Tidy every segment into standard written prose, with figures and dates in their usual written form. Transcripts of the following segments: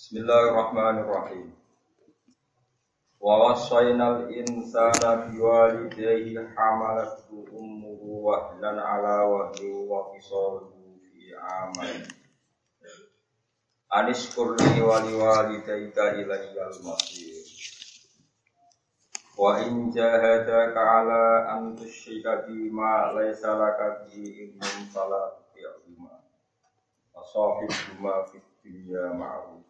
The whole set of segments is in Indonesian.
Bismillahirrahmanirrahim. Wa wassaynal insana biwalidayhi hamalathu ummuhu wahnan ala wahni wa fisaluhu fi amain. Anishkur li wa liwalidayka ilayyal masir. Wa in jahadaka ala an tusyrika bima laysa laka bihi ilmun fala tuti'huma. Wa sahibhuma fid dunya ma'rufa.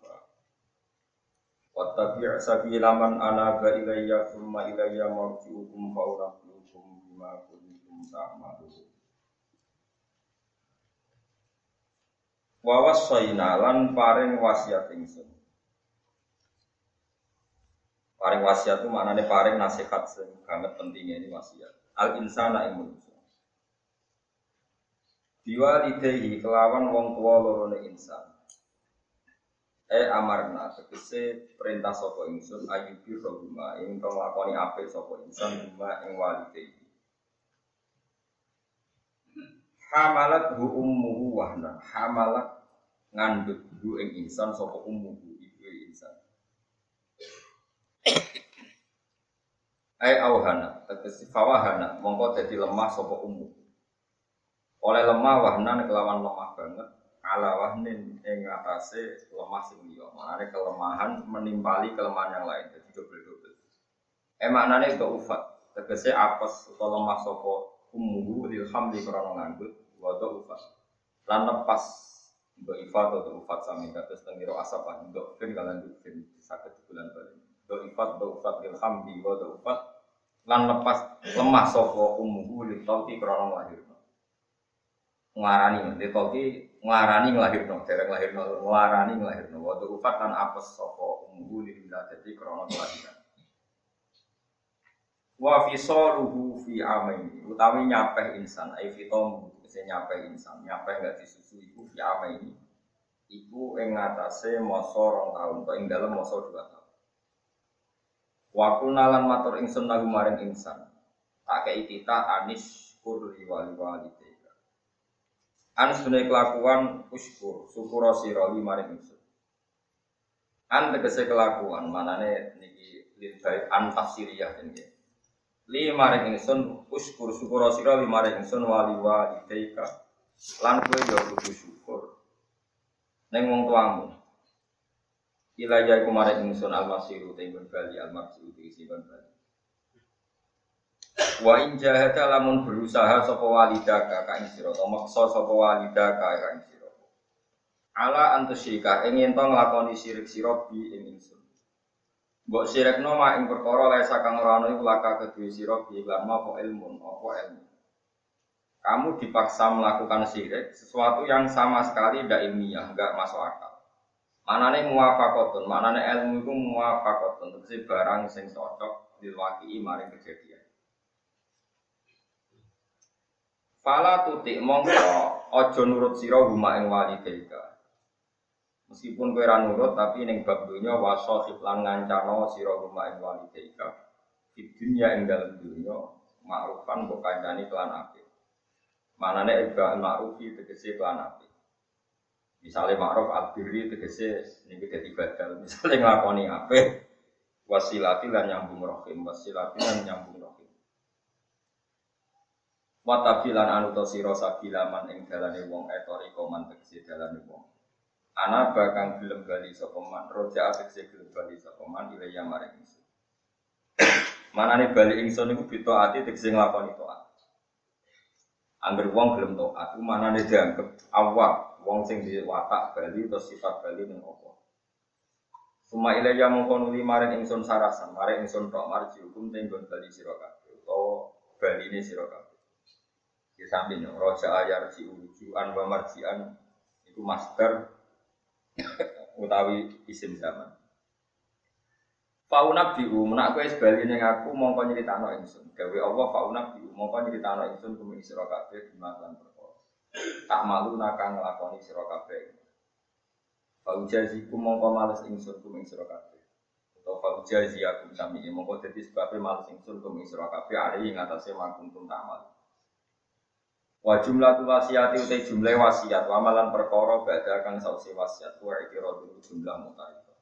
Wattabi' sabila man anaba ilayya thumma ilayya marji'ukum fa unabbi'ukum bima kuntum ta'malun. Wa wassayna lan paring wasiat ingsun. Paring wasiat itu maknane paring nasihat sing banget pentingnya ini wasiat. Al insana ing manusa. Biwalidayhi kelawan wong tuwa lorone insan. Amarna tegese perintah sapa ingsun ayyubi rohuma ing nglakoni apik sapa insan huma ing walidayhi. Hamalat hu ummuhu wahna hamalat ngandhut hu ing insan sapa ummuhu ibu insan. Auhana tegese fawahana mongko dadi lemah sapa ummu. Oleh lemah wahnan kelawan lemah banget ala wahnin ing atase lemah sing liya. Maknane kelemahan menimpali kelemahan yang lain dadi double-double. Maknane ufat tegese apes utawa lemah sapa ummuhu lil hamli krana ngandhut wa ufat. Lan lepas ifat atau ufat sami kados tengiro asapan ben kalan ben saged bulan bali. Ufat lil hamli wa ufat lan lepas lemah sapa ummuhu lil tauti krana lahir. Nglarani ditoki nglarani nglahirno dereng lahirno nglarani nglahirno wa ufat lan apes sapa ummu lillah dadi krana kelahiran wa fisaluhu fi amaini utawi nyapeh insan ai fitom kese nyapeh insan nyapeh gak disusu iku fi amaini iku ing ngatasé masa 2 taun utawa ing dalem masa 2 taun wa kunalan matur ingsun lagu maring insan tak kei kita anis kur liwali walite an sunai kelakuan uskur syukur sira maring ingsun. An tegese kelakuan manane niki lidait an tafsiriyah niki. Li maring ingsun uskur syukur sira maring ingsun wali walidayka lan kowe yo kudu syukur ning wong tuamu. Ila ya iku maring ingsun al-masiru tenggon bali al-masiru isi bali. Wa in jahada lamun berusaha sapa walidaka ka ing sira utawa maksa sapa walidaka ka ing sira ala antusyika ing yen to nglakoni syirik sira bi ing ingsun mbok syirikno mak ing perkara lesa kang ora ana iku laka kedue sira bi lan apa ilmu kamu dipaksa melakukan syirik sesuatu yang sama sekali tidak ilmiah enggak masuk akal manane muwafaqatun manane ilmu iku muwafaqatun tegese barang sing cocok diwakili maring kejadian. Fala tutik mongko aja nurut sira huma ing walidayka. Meskipun kowe ora nurut tapi ning bab donya wasahib lan ngancana sira huma ing walidayka. Di dunya ing dalem donya ma'rufan mbok kancani kelan apik. Manane ibal ma'rufi tegese kelan apik. Misale ma'ruf al-birri tegese niki dadi badal. Misale nglakoni apik wasilati lan nyambung rahim, wasilati lan nyambung rahim. Watabilan anuta sira sabilaman ing dalane wong etori koman tegese dalane wong. Ana bakang gelem bali sapa man, roja tegese gelem bali sapa man ilaya maring ingsun. Manane bali ingsun iku bitaati tegese nglakoni taat. Angger wong gelem taat, manane dianggep awak, wong sing diwatak bali utawa sifat bali ning apa. Suma ilaya mongko nuli maring ingsun sarasan, maring ingsun tok marji hukum tenggon bali sira kabeh utawa baline sira kabeh. Di samping roja ayar si ujuan wa marjian itu master utawi isim zaman. Fauna biu menak kowe sebali ning aku mongko nyritakno ingsun. Gawe Allah fauna biu mongko nyritakno ingsun kuming sira kabeh dimakan perkara. Tak malu nakang nglakoni sira kabeh. Faujaziku mongko males ingsun kuming sira kabeh. Utawa faujazi aku sami mongko dadi sebab males ingsun kuming sira kabeh ari ing atase makuntum tamal. Wa jumlah wasiati utai jumlah wasiat wa amalan perkara badha kang sausi wasiat wa ikradul jumlah mutaifa.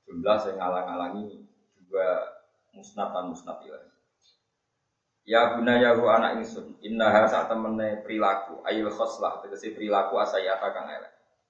jumlah sing ngalang-alangi juga musnad lan musnad ilaih. Ya gunaya hu anak ingsun innaha sak temene perilaku ayil khoslah tegese perilaku asayata kang elek.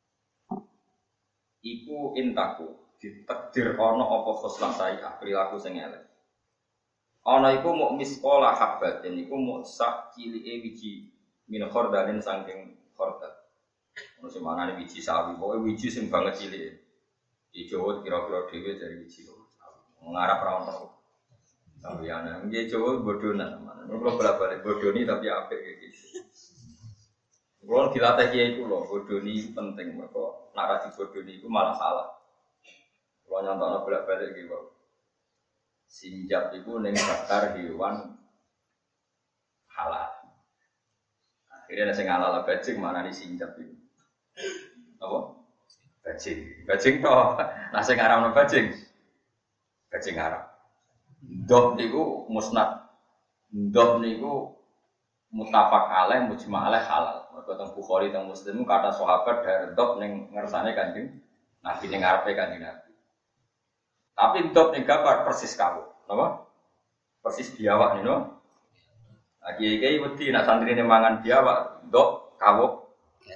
Iku intaku ditakdir ana apa khoslah sayah perilaku sing elek. Ana iku muk misqala habbatin iku muk sak cilike wiji min khordalin saking khordal. Ono sing manane wiji sawi, pokoke wiji sing banget cilike. Di Jawa kira-kira dhewe dari wiji. Ngarap ra ono. Sawiana, nggih Jawa bodonan. Kulo balik bodoni tapi apik iki. Kulo dilatih kiai kulo, bodoni penting mergo nek ora dibodoni iku malah salah. Kulo nyontokno bolak-balik iki, Pak. Sinjap iku ning daftar hewan halal. Akhirnya sing halal bajing mana di sinjap iku. Apa? Bajing. Bajing toh. Lah sing haram bajing. Bajing haram. Doh niku musnad. Doh niku muttafaq alaih mujma' alaih halal. Mergo teng Bukhari teng Muslim kata sahabat dari doh ning ngersane Kanjeng Nabi ning ngarepe Kanjeng Nabi. Tapi doh ning gambar persis kawuk. Napa? Persis biawak niku. Lagi kiai wedi nak santrine mangan biawak, doh kawuk.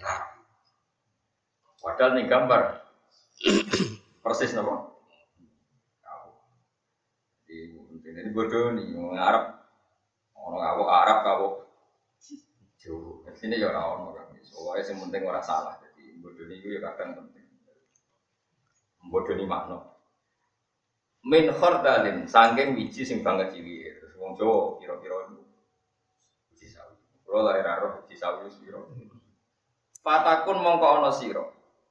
Padahal ning gambar persis napa? Jadi bodoh nih, orang Arab, orang Arab jauh. Sini ya orang kan, soalnya yang penting orang salah. Jadi bodoh nih itu ya kadang penting. Bodoh nih makna. Min khordalin, sangking biji sing banget cilik. Terus wong Jawa kira-kira biji sawi. Kalau lahir arah biji sawi siro. Fatakun mongko ono siro.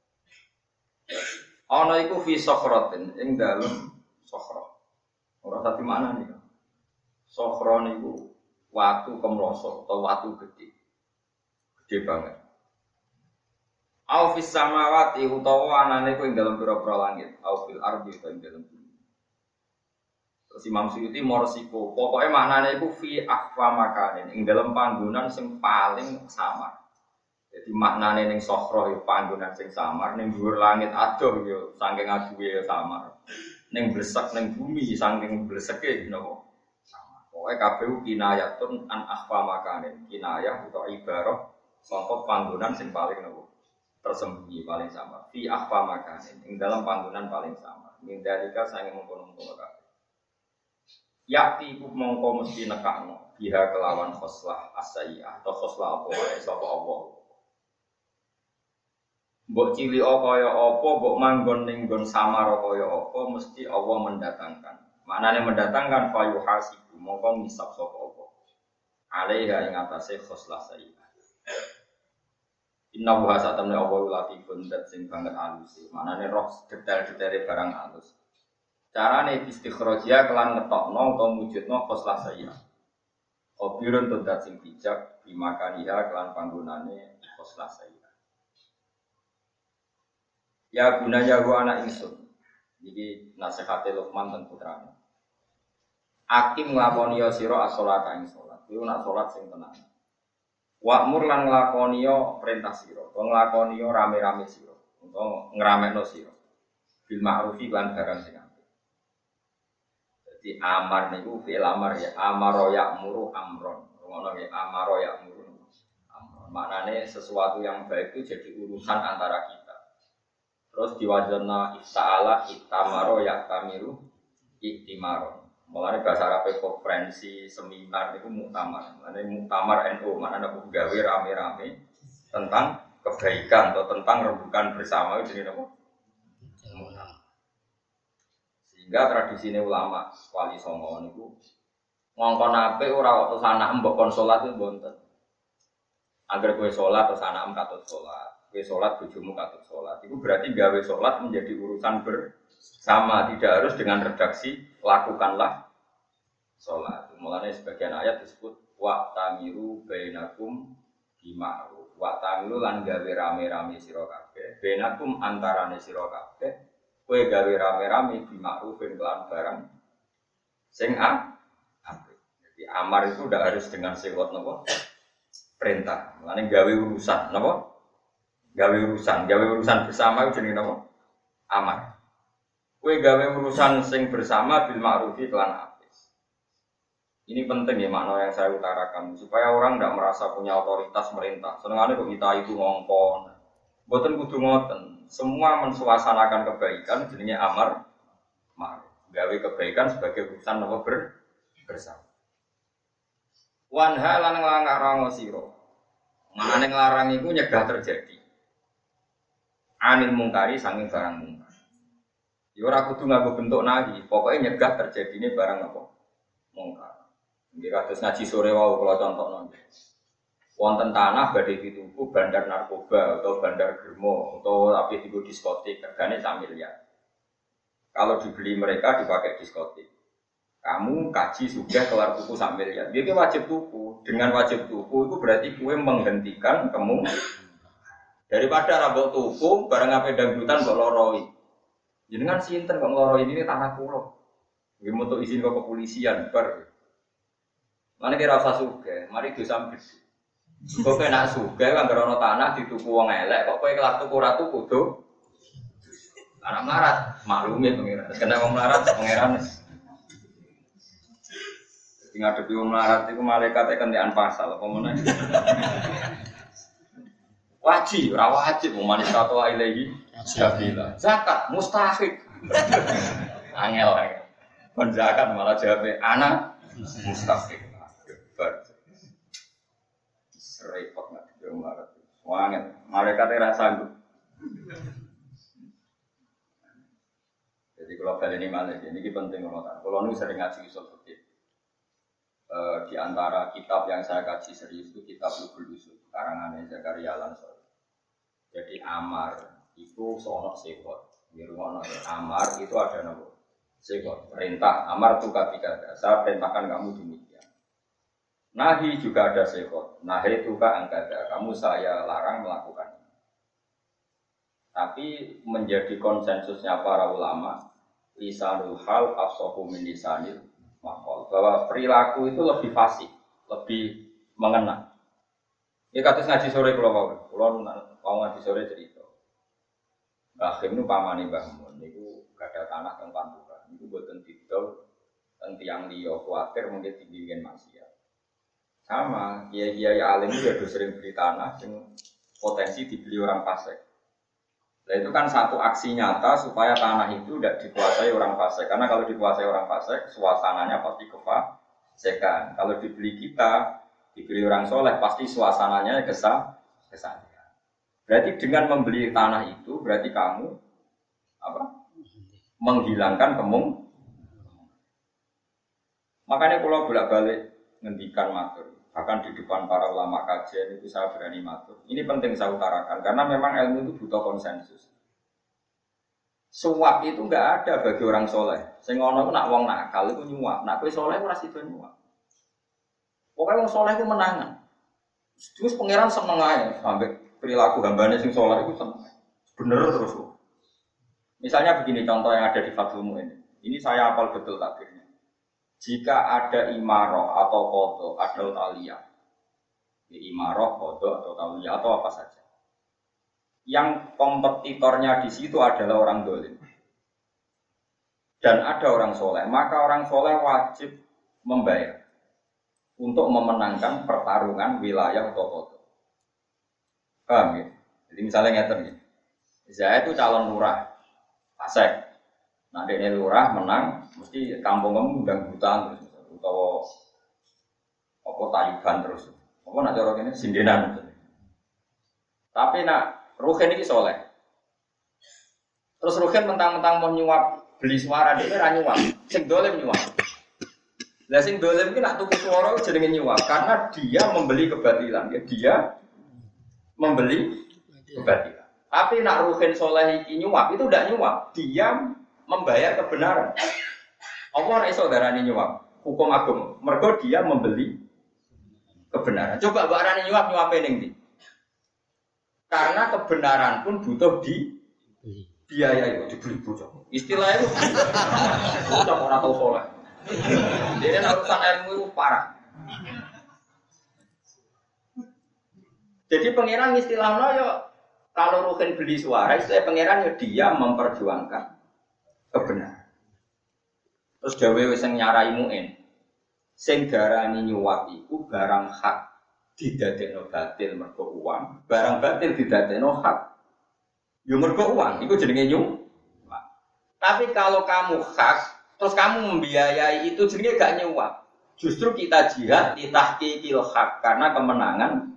Ono iku fi sokhrotin, ing dalem sokhro. Orang tadi mana nih? Sokhron itu watu kemloso atau watu gede banget. Aufis samawati utawa anane ku ing dalam pira-pira langit, aufil ardi utawa ing dalam bumi. Terus Imam Suyuti morsiko, pokoknya maknane iku fi akhfa makanin, ing dalam panggonan sing paling samar. Jadi maknane ning sokhro ya panggonan sing samar, ning dhuwur langit adoh ya saking aduhe ya samar. Neng blesak neng bumi saking bleseke napa sama. Pokoke kabeh kinayatun an akhfa makanin. Kinayah utawa ibarah saka panggonan sing paling napa tersembunyi paling sama. Fi akhfa makanin ing dalam panggonan paling sama. Mindalika sange mengkono-mengkono kabeh. Yakti iku mongko mesti nekakno biha kelawan khoslah as-sayyi'ah atau khoslah apa wae sapa apa. Mbok cilik kaya apa, mbok manggon ning nggon samar kaya apa, mesti Allah mendatangkan. Manane mendatangkan fayuhasibu, mongko ngisab sapa apa. Alaiha ing atase khoslah sayyi'ah. Inna wa satamna Allah latifun dat sing banget alus. Manane roh detail-detaile barang alus. Carane istikhrajia kelan ngetokno utawa mujudno khoslah sayyi'ah. Obirun dat sing bijak bimakaniha kelan panggonane khoslah sayyi'ah. Ya gunanya gua anak ingsun. Jadi nasihate Luqman ten putrane. Akim nglakoni ya sira as-sholata ing salat. Kuwi nak salat sing tenang. Wa'mur lan nglakoni ya perintah sira. Wong nglakoni ya rame-rame sira. Utawa ngramekno sira. Bil ma'rufi lan barang sing apik. Jadi amar niku fi'il amar ya. Amaro ya'muru amron. Ngono ya amaro ya'muru amron. Maknane sesuatu yang baik itu jadi urusan antara kita. Terus diwajibna ifta'ala ittamaro yaktamiru iktimaro. Mulane bahasa Arab konferensi seminar itu muktamar. Mulane muktamar NU mana ada gawe rame-rame tentang kebaikan atau tentang rembukan bersama itu jenenge apa? Muktamar. Sehingga tradisi ulama Wali Songo niku ngongkon apik ora waktu sanak mbok kon salat itu mboten. Agar kowe salat terus anak katut salat. Kowe salat bojomu katut salat. Itu berarti gawe salat menjadi urusan bersama, tidak harus dengan redaksi lakukanlah salat. Mulane sebagian ayat disebut wa tamiru bainakum bima'ruf. Wa tamiru lan gawe rame-rame sira kabeh. Bainakum antarane sira kabeh. Kowe gawe rame-rame bima'rufin kelan barang sing apik. Jadi amar itu tidak harus dengan sewot napa? Perintah. Mulane gawe urusan napa? Gawe urusan bersama itu jenenge napa? Amar. Kowe gawe urusan sing bersama bil ma'rufi lan apik. Ini penting ya makna yang saya utarakan supaya orang tidak merasa punya otoritas merintah. Senengane kok kita itu ngongkon. Mboten kudu ngoten. Semua mensuasanakan kebaikan jenenge amar ma'ruf. Gawe kebaikan sebagai urusan apa bersama. Wanha lan nglarang sira. Maknane nglarang iku nyegah terjadi. Anil mungkari sanging barang mungkar. Ya ora kudu nganggo bentuk nahi, pokoke nyegah terjadine barang apa? Mungkar. Nggih kados ngaji sore wau kula contohno. Wonten tanah badhe dituku bandar narkoba atau bandar germo atau tapi digo diskotik regane sak miliar. Kalau dibeli mereka dipakai diskotik. Kamu kaji sudah kelar tuku sak miliar. Dia wajib tuku. Dengan wajib tuku itu berarti kue menghentikan kamu daripada rambut tuku barang apa dangdutan kok loroi. Jenengan sinten kok ngloroi ini tanah kula. Nggih mutu izin ke kepolisian bar. Mane kira usah sugih, mari dosa gede. Kok kena sugih kan ana tanah dituku wong elek kok kowe kelar tuku ora tuku do. Anak melarat, maklume pengiran. Kena wong melarat pengiran. Sing ngadepi wong melarat iku malaikat kentekan pasal apa meneh. Wajib, ora wajib manis satu ilahi sabila. Zakat mustahik. Angel. Kon zakat malah jawabe anak mustahik. Ber. Repot nek yo melarat. Wangel, malaikat ora sanggup. Jadi kalau kali ini malah ini penting kalau nu sering ngaji usul fikih. Di antara kitab yang saya kaji serius itu kitab Lughul Usul karangan Zakaria Al-Ansori. Jadi amar itu soal sekot. Di rumah amar itu ada nama sekot. Perintah amar itu ketika saya perintahkan kamu demikian. Nahi juga ada sekot. Nahi itu angkada. Kamu saya larang melakukan. Tapi menjadi konsensusnya para ulama, lisanul hal afsahu min lisanil maqal, bahwa perilaku itu lebih fasih, lebih mengena. Ini kados ngaji sore kula ngaji sore cerita. Mbah Khim nu pamane Mbah Mun niku gadah tanah teng Pantura. Niku boten didol teng tiyang liya kuwatir mungkin dibikin maksiat. Sama, kiai-kiai alim itu ya sering beli tanah yang potensi dibeli orang fasik. Nah itu kan satu aksi nyata supaya tanah itu tidak dikuasai orang fasik. Karena kalau dikuasai orang fasik, suasananya pasti kefasikan. Kalau dibeli kita, dibeli orang soleh, pasti suasananya kesalahan. Berarti dengan membeli tanah itu, berarti kamu menghilangkan Makanya kalau bolak-balik ngendikan matur, bahkan di depan para ulama kajian itu saya berani matur. Ini penting saya utarakan karena memang ilmu itu butuh konsensus. Suap itu enggak ada bagi orang soleh. Sing ngono ku nak wong nakal itu nyuap. Nak kowe soleh ora sida nyuap. Pokoke wong soleh ku menangan. Terus pangeran seneng ae sampai perilaku hambane sing soleh itu seneng. Bener terus. Misalnya begini contoh yang ada di Fathul Mu'in. Ini saya hafal betul takdirnya. Jika ada imarah atau qadha, ada taliyah. Imarah, qadha atau taliyah atau apa saja. Yang kompetitornya di situ adalah orang dolim. Dan ada orang soleh, maka orang soleh wajib membayar untuk memenangkan pertarungan wilayah atau qadha. Paham ya? Jadi misalnya ngeten ya. Saya itu calon lurah, Pasek. Nah, dia lurah menang, mesti kampung kamu dangdutan terus, atau apa Taliban terus, apa nak cara ini sindenan. Tapi nak Ruhin ini soleh. Terus Ruhin mentang-mentang mau nyuap beli suara dia ora nyuap, sing dolim nyuap. Lah sing dolim iki nak tuku suara jenenge nyuap karena dia membeli kebatilan, ya dia membeli kebatilan. Tapi nak Ruhin soleh iki nyuap itu tidak nyuap, dia membayar kebenaran. Allah ora iso darani nyuap. Hukum agung. Mergo dia membeli kebenaran. Coba mbak arani nyuap ning ndi? Karena kebenaran pun butuh biaya itu dibeli bocah. Istilahnya itu bocah ora tau saleh. Dene urusan ilmu itu parah. Jadi pangeran istilahnya yo kalau Ruhin beli suara, istilah pangeran yo dia memperjuangkan kebenaran. Terus dawuh sing nyarai muin. Sing darani nyuwak iku barang hak didadekno batil mergo uang, barang batil didadekno hak yo mergo uang, iku jenenge nyuwak. Tapi kalau kamu hak, terus kamu membiayai itu jenenge gak nyuwak. Justru kita jihad ditahqiqil hak karena kemenangan.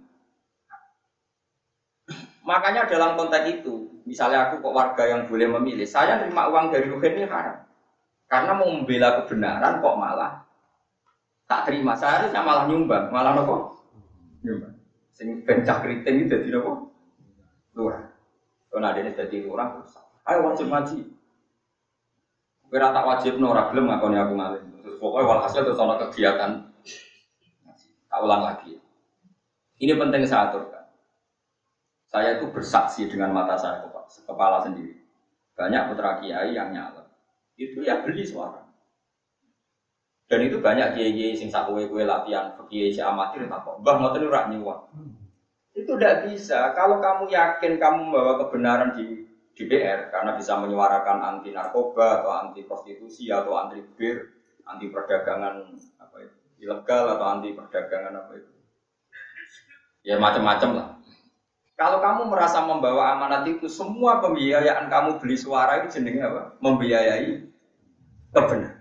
Makanya dalam konteks itu, misalnya aku kok warga yang boleh memilih, saya terima uang dari Ruhin ini haram. Karena mau membela kebenaran kok malah tak terima, seharusnya malah nyumbang, malah nopo nyumbang. Sing bencak keriting itu jadi nopo lurah. Kalau ada ini jadi lurah, ayo wajib ngaji. Kira tak wajib nora belum ngakoni aku ngalim. Terus pokoknya walhasil terus ada kegiatan. Tak ulang lagi. Ini penting saya aturkan. Saya itu bersaksi dengan mata saya kepala sendiri. Banyak putra kiai yang nyalek. Itu ya beli suara. Dan itu banyak kiai-kiai sing sak kowe-kowe latihan kiai si amatir tak kok. Mbah ngoten ora nyuwak. Itu tidak bisa. Kalau kamu yakin kamu membawa kebenaran di DPR karena bisa menyuarakan anti narkoba atau anti prostitusi atau anti bir, anti perdagangan apa itu ilegal atau anti perdagangan apa itu. Ya macam-macam lah. Kalau kamu merasa membawa amanat itu, semua pembiayaan kamu beli suara itu jenenge apa? Membiayai kebenaran.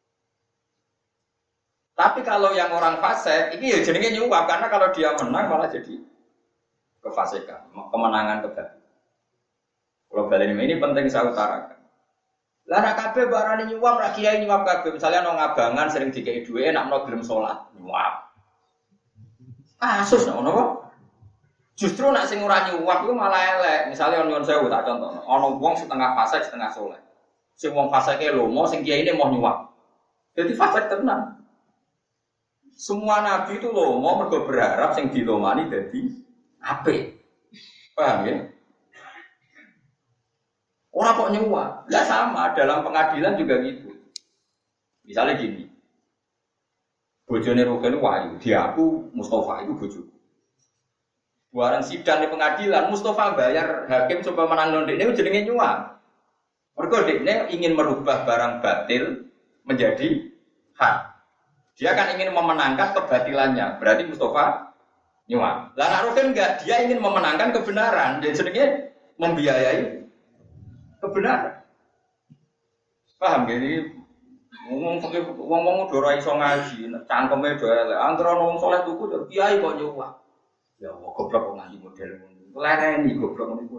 Tapi kalau yang orang fasik, ini ya jenenge nyuap karena kalau dia menang malah jadi kefasikan, kemenangan kebatilan. Kalau balen ini penting saya utarakan. Lah nek kabeh barane nyuap, ra kiai nyuap kabeh. Misalnya nang ngabangan sering dikei dhuwit nek ono gelem salat, nyuap. Kasus ngono kok. Justru nek sing ora nyuap iku malah elek. Misalnya nyuwun sewu tak contohno, ono wong setengah fasik, setengah saleh. Sing wong fasike lomo, sing kiyaine mau nyuap. Jadi fasik tenan. Semua nabi itu loh mau mergo berharap sing dilomani dadi apik. Paham ya? Orang kok nyuwak. Lah sama dalam pengadilan juga gitu. Misalnya gini. Bojone Rukin wayu, diaku Mustafa itu bojoku. Buaran sidang di pengadilan Mustafa bayar hakim supaya menang ndekne jenenge nyuwak. Mergo dekne ingin merubah barang batil menjadi hak. Dia kan ingin memenangkan kebatilannya. Berarti Mustafa nyuwak. Lah nek Rukin enggak, dia ingin memenangkan kebenaran. Dan jenenge membiayai kebenaran. Paham gak ini? Ngomong udah ora iso ngaji, cangkeme do elek. Antara wong saleh tuku kiai kok nyuwak. Ya Allah, goblok kok ngaji model ngono. Lereni goblok ngono iku.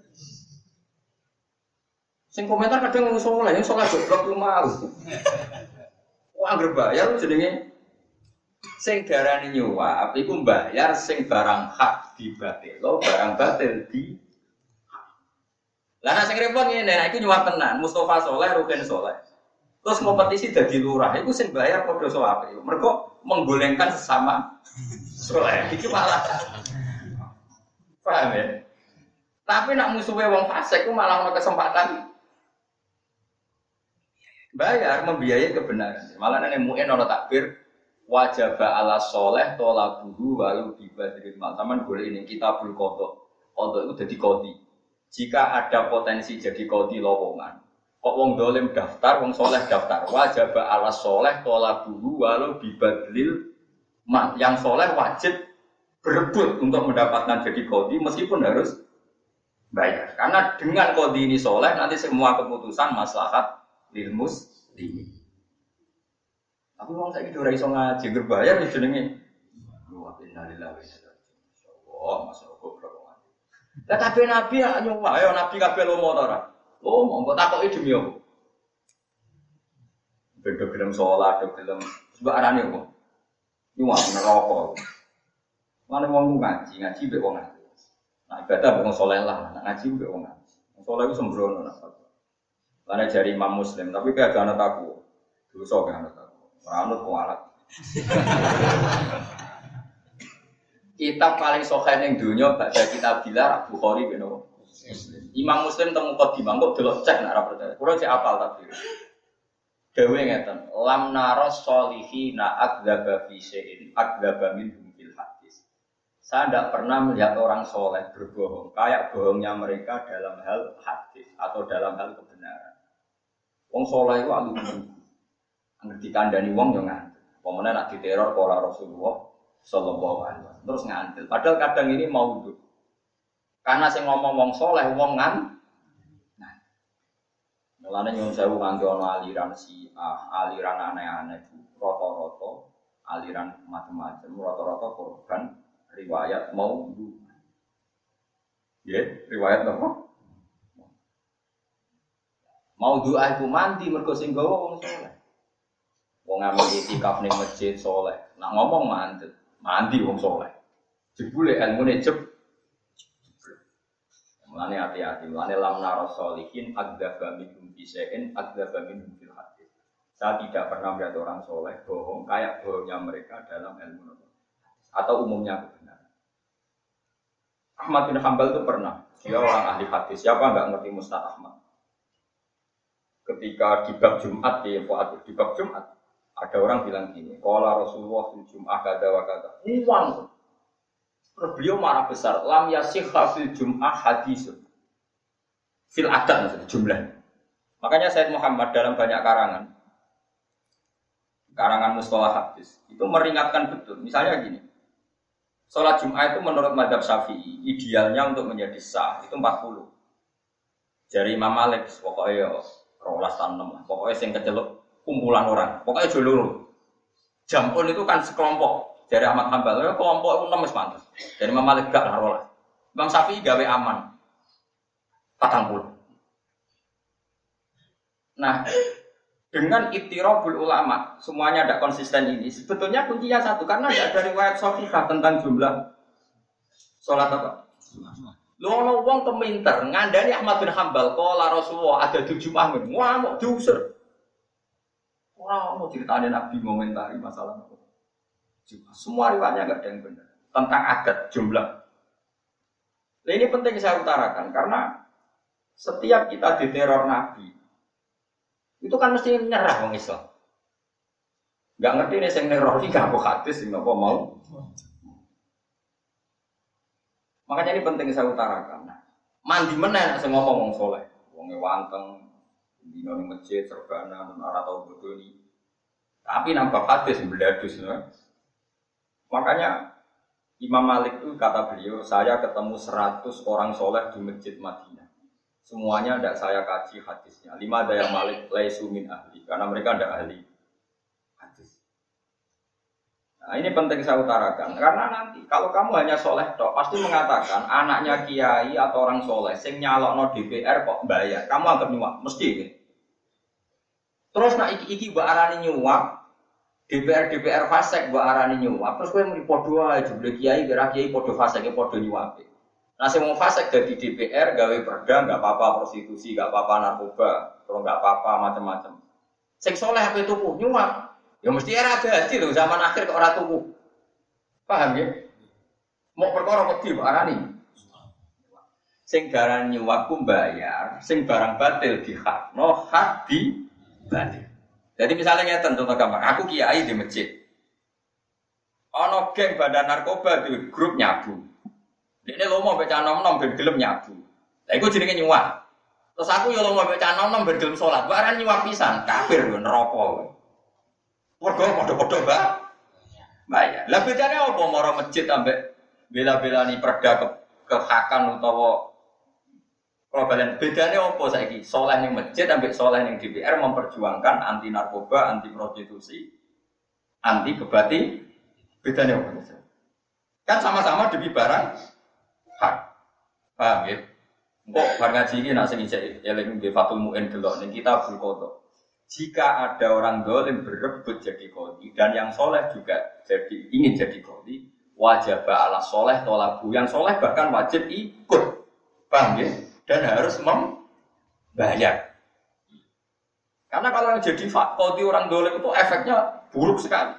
Sing komentar kadang wong saleh, yang saleh goblok ku mau. Wong anggere bayar jenenge sing darani nyuwak, iku mbayar sing barang hak dibatelo, barang batil di lah nek sing repot ngene, nek iki nyuwap tenan, Mustafa saleh, Rukin saleh. Terus kompetisi dadi lurah, iku sing bayar padha sawape. Mergo menggolengkan sesama saleh. Iki malah paham ya? Tapi nek musuhe wong fasik ku malah ono kesempatan bayar membiayai kebenaran. Malah nek muin ono takbir wajib ala saleh talabuhu wa yubadil mal. Taman boleh ini kitabul qadha. Qadha itu dadi qadhi. Jika ada potensi jadi qadhi lowongan, kok wong dolim daftar, wong soleh daftar, wajib ala soleh tolabuhu walau bibadlil mal. Yang soleh wajib berebut untuk mendapatkan jadi qadhi meskipun harus bayar. Karena dengan qadhi ini soleh, nanti semua keputusan maslahat lil muslimin. Tapi wong saiki ora iso ngaji berbayar ya jenenge. Wa inna lillahi wa inna ilaihi raji'un. Oh, masyaallah goblok. Lah kabeh nabi ya nyuwak, ayo nabi kabeh lomo ta ora? Lomo, kok takoki demi apa? Beda gelem salat, gelem sembarane apa? Nyuwak neraka. Mane wong ngaji mbek wong ngaji. Nah ibadah wong saleh lah, nek ngaji mbek wong ngaji. Wong saleh iku sembrono lah. Lane jari Imam Muslim, tapi kayak gak ana takwa. Dosa gak ana takwa. Ora anut kualat. Kitab paling sahih ning donya baca kitab Bilal Bukhari ben Muslim. Imam Muslim temu Qadimah kok delok cek nek ora percaya. Kulo cek apal tapi. Dewe ngeten, lam naras solihina adzaba fi syai'in adzaba minhum fil hadis. Saya tidak pernah melihat orang soleh berbohong kayak bohongnya mereka dalam hal hadis atau dalam hal kebenaran. Wong soleh itu alumni. Angger dikandani wong yo ngantil. Pemene nak diteror pola Rasulullah sallallahu alaihi wasallam. Terus ngantil. Padahal kadang ini maudhu. Karena sing ngomong wong saleh wong ngantil. Mulane nyuwun sewu nganti ana aliran aliran aneh-aneh rata-rata aliran macam-macam rata-rata korban riwayat maudhu. Nggih, riwayat apa? Maudhu iku mandi mergo sing gawa wong saleh. Wong amal itikaf ning masjid saleh. Nak ngomong mandi wong saleh. Jebule ilmune mulane hati-hati, mulane lam narasolihin adzaba minhum bisain adzaba minhum fil hadis. Saya tidak pernah melihat orang soleh bohong kayak bohongnya mereka dalam ilmu atau umumnya kebenaran. Ahmad bin Hanbal itu pernah, dia orang ahli hadis. Siapa enggak ngerti Musnad Ahmad? Ketika di bab Jumat di bab Jumat ada orang bilang gini, qala Rasulullah fil Jum'ah kada wa kada. Uang. Terus beliau marah besar, lam yasihha fil Jum'ah hadisun. Fil adat maksudnya jumlah. Makanya Said Muhammad dalam banyak karangan mustalah hadis itu meringatkan betul. Misalnya gini. Salat Jumat itu menurut mazhab Syafi'i idealnya untuk menjadi sah itu 40. Dari Imam Malik pokoknya 12 6 lah. Pokoknya sing keceluk kumpulan orang. Pokoknya jolur. Jampun itu kan sekelompok. Dari Ahmad Hanbal, kelompok itu 6 pantas. Dari Imam Malik gak lah rolas. Imam Syafi'i gawe aman. 40. Nah, dengan ittirabul ulama, semuanya ada konsisten ini. Sebetulnya kuncinya satu, karena tidak ada riwayat sahihah tentang jumlah sholat apa. Lono wong keminter, ngandani Ahmad bin Hanbal, qala Rasulullah ada 7 mahmud. Wah, mau diusir. Ora mau critane Nabi ngomentari masalah apa. Semua riwayatnya enggak ada yang benar tentang adat jumlah. Nah, ini penting saya utarakan karena setiap kita diteror Nabi itu kan mesti nyerah wong Islam. Enggak ngerti nih sing neror iki gak apa hadis sing apa mau. Makanya ini penting saya utarakan. Nah, mandi meneh nek sing ngomong wong saleh, wong wanteng dino ning masjid serbana ora tau bodoni. Tapi nambah hadis mbledus ya. Makanya Imam Malik itu kata beliau, saya ketemu 100 orang soleh di masjid Madinah. Semuanya tidak saya kaji hadisnya. 5 daya Malik laisu min ahli, karena mereka tidak ahli hadis. Nah ini penting saya utarakan, karena nanti kalau kamu hanya soleh tok, pasti mengatakan anaknya kiai atau orang soleh, sing nyalokno DPR kok bayar, kamu anggap nyuap, mesti. Terus nak iki mbak arani nyuap. DPR fasek mbok arani nyuwap terus kowe muni padha ae jebule kiai kira kiai padha faseke padha nyuwape. Nah sing wong fasek dadi DPR gawe perda enggak apa-apa prostitusi enggak apa-apa narkoba, terus enggak apa-apa macam-macam. Sing saleh ape tuku nyuwap. Ya mesti era gaji lho zaman akhir kok ora tuku. Paham ya? Mau perkara wedi mbok arani. Sing darani nyuwap ku bayar, sing barang batil dihakno hak di batil. Jadi misalnya ngeten contoh gampang, aku kiai di masjid. Ono geng badan narkoba di grup nyabu. Ini lomo mbek cah nom-nom ben gelem nyabu. Lah iku jenenge nyuwap. Terus aku yo lomo mbek cah nom-nom ben gelem salat. Baran nyuwap pisan, kafir yo neraka. Padha padha Mbak. Bayar. Lah bedane apa maro masjid ambek bela-belani perda kehakan utawa kalau kalian bedanya apa saiki? Soleh ning masjid ambek soleh ning DPR memperjuangkan anti narkoba, anti prostitusi, anti kebati. Bedanya apa? Kan sama-sama demi barang hak. Paham ya? Kok bar ngaji iki nek sing isih eling nggih Fathul Muin delok ning Kitabul Qadha. Jika ada orang zalim berebut jadi qadhi dan yang soleh juga ingin jadi qadhi, wajib ala soleh tolabu. Yang soleh bahkan wajib ikut. Paham ya? Dan harus membayar. Karena kalau yang jadi qadhi orang zalim itu efeknya buruk sekali.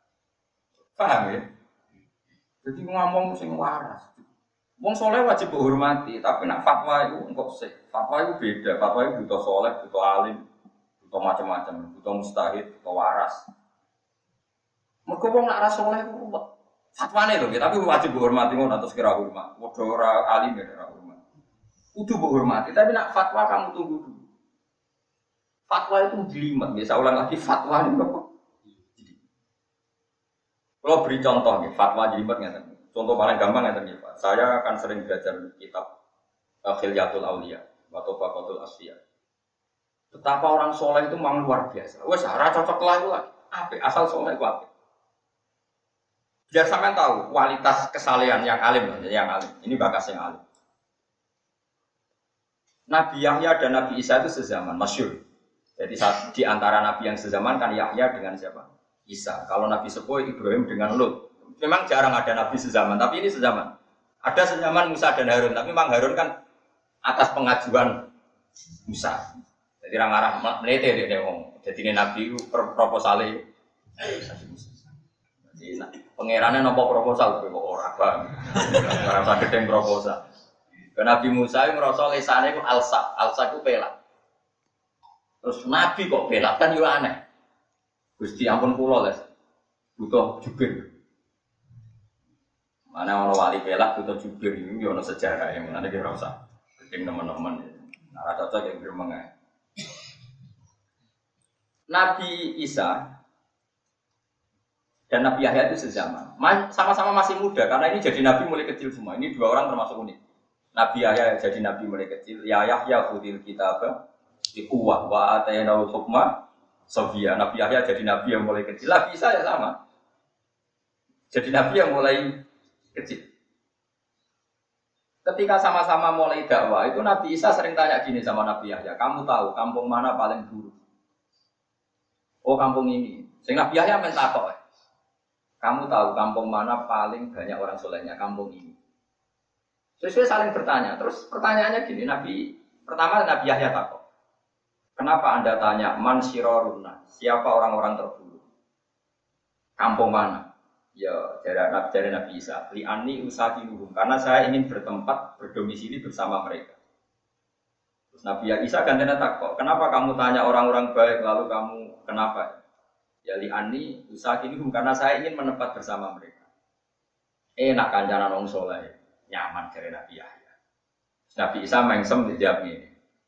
Paham ya? Jadi ngomong sing waras. Wong soleh wajib dihormati, tapi nak fatwa itu engkau sih. Fatwa itu beda. Fatwa itu butuh soleh, butuh alim, butuh macam-macam, butuh mustahid, butuh waras. Mereka wong nak ras soleh itu fatwane lho, tapi wajib dihormati ngono atus kira hormat. Padha ora alim ya ora hormat. Kudu dihormati, tapi nak fatwa kamu tunggu dulu. Fatwa itu jelimet. Bisa ulang lagi fatwa itu apa? Kalau beri contoh nih, fatwa jelimet nggak. Contoh paling gampang nggak Pak. Saya akan sering belajar kitab Khilyatul Auliya atau Faqatul Asfiya. Betapa orang soleh itu memang luar biasa. Wes, cara cocok lah itu lagi. Apa? Asal soleh itu apa? Biar sampean tahu kualitas kesalehan yang alim, yang alim. Ini bakas yang alim. Nabi Yahya dan Nabi Isa itu sezaman, masyhur. Jadi di antara nabi yang sezaman kan Yahya dengan siapa? Isa. Kalau Nabi Sepuh Ibrahim dengan Lut. Memang jarang ada nabi sezaman, tapi ini sezaman. Ada sezaman Musa dan Harun, tapi memang Harun kan atas pengajuan Musa. Jadi orang arah melete dia ngomong. Jadi ini nabi proposalnya. Jadi pangerannya nopo proposal kok ora bang. Ora usah gedeng proposal. Nabi Musa yang merasa lesane itu alsa itu pelak. Terus Nabi kok pelak kan yo aneh. Gusti ampun kula les. Butuh jubir. Mana ono wali pelak butuh jubir iki yo ono sejarah yang ngene iki ora usah gedeng teman-teman. Ora cocok yang gremeng ae. Nabi Isa dan Nabi Yahya itu sezaman. Sama-sama masih muda karena ini jadi nabi mulai kecil semua. Ini dua orang termasuk unik. Nabi Yahya jadi nabi mulai kecil. Ya Yahya khudil kitab bi quwwah wa atainahu hukma sabiyya. Nabi Yahya jadi nabi yang mulai kecil. Nabi Isa ya sama. Jadi nabi yang mulai kecil. Ketika sama-sama mulai dakwah, itu Nabi Isa sering tanya gini sama Nabi Yahya, "Kamu tahu kampung mana paling buruk?" "Oh, kampung ini." Sing Nabi Yahya mentakok. "Kamu tahu kampung mana paling banyak orang solehnya?" "Kampung ini." Sesuai saling bertanya. Terus pertanyaannya gini, pertama Nabi Yahya takut. Kenapa Anda tanya man syiraruna? Siapa orang-orang terburuk? Kampung mana? Ya, dari Nabi Isa. Li anni usakinuhum. Karena saya ingin bertempat berdomisili bersama mereka. Terus Nabi Isa gantinya takut. Kenapa kamu tanya orang-orang baik lalu kamu kenapa? Ya li anni usakinuhum. Karena saya ingin menempat bersama mereka. Enak kancanan wong saleh. Nyaman dari Nabi Yahya. Nabi Isa mengsem dijawab ini.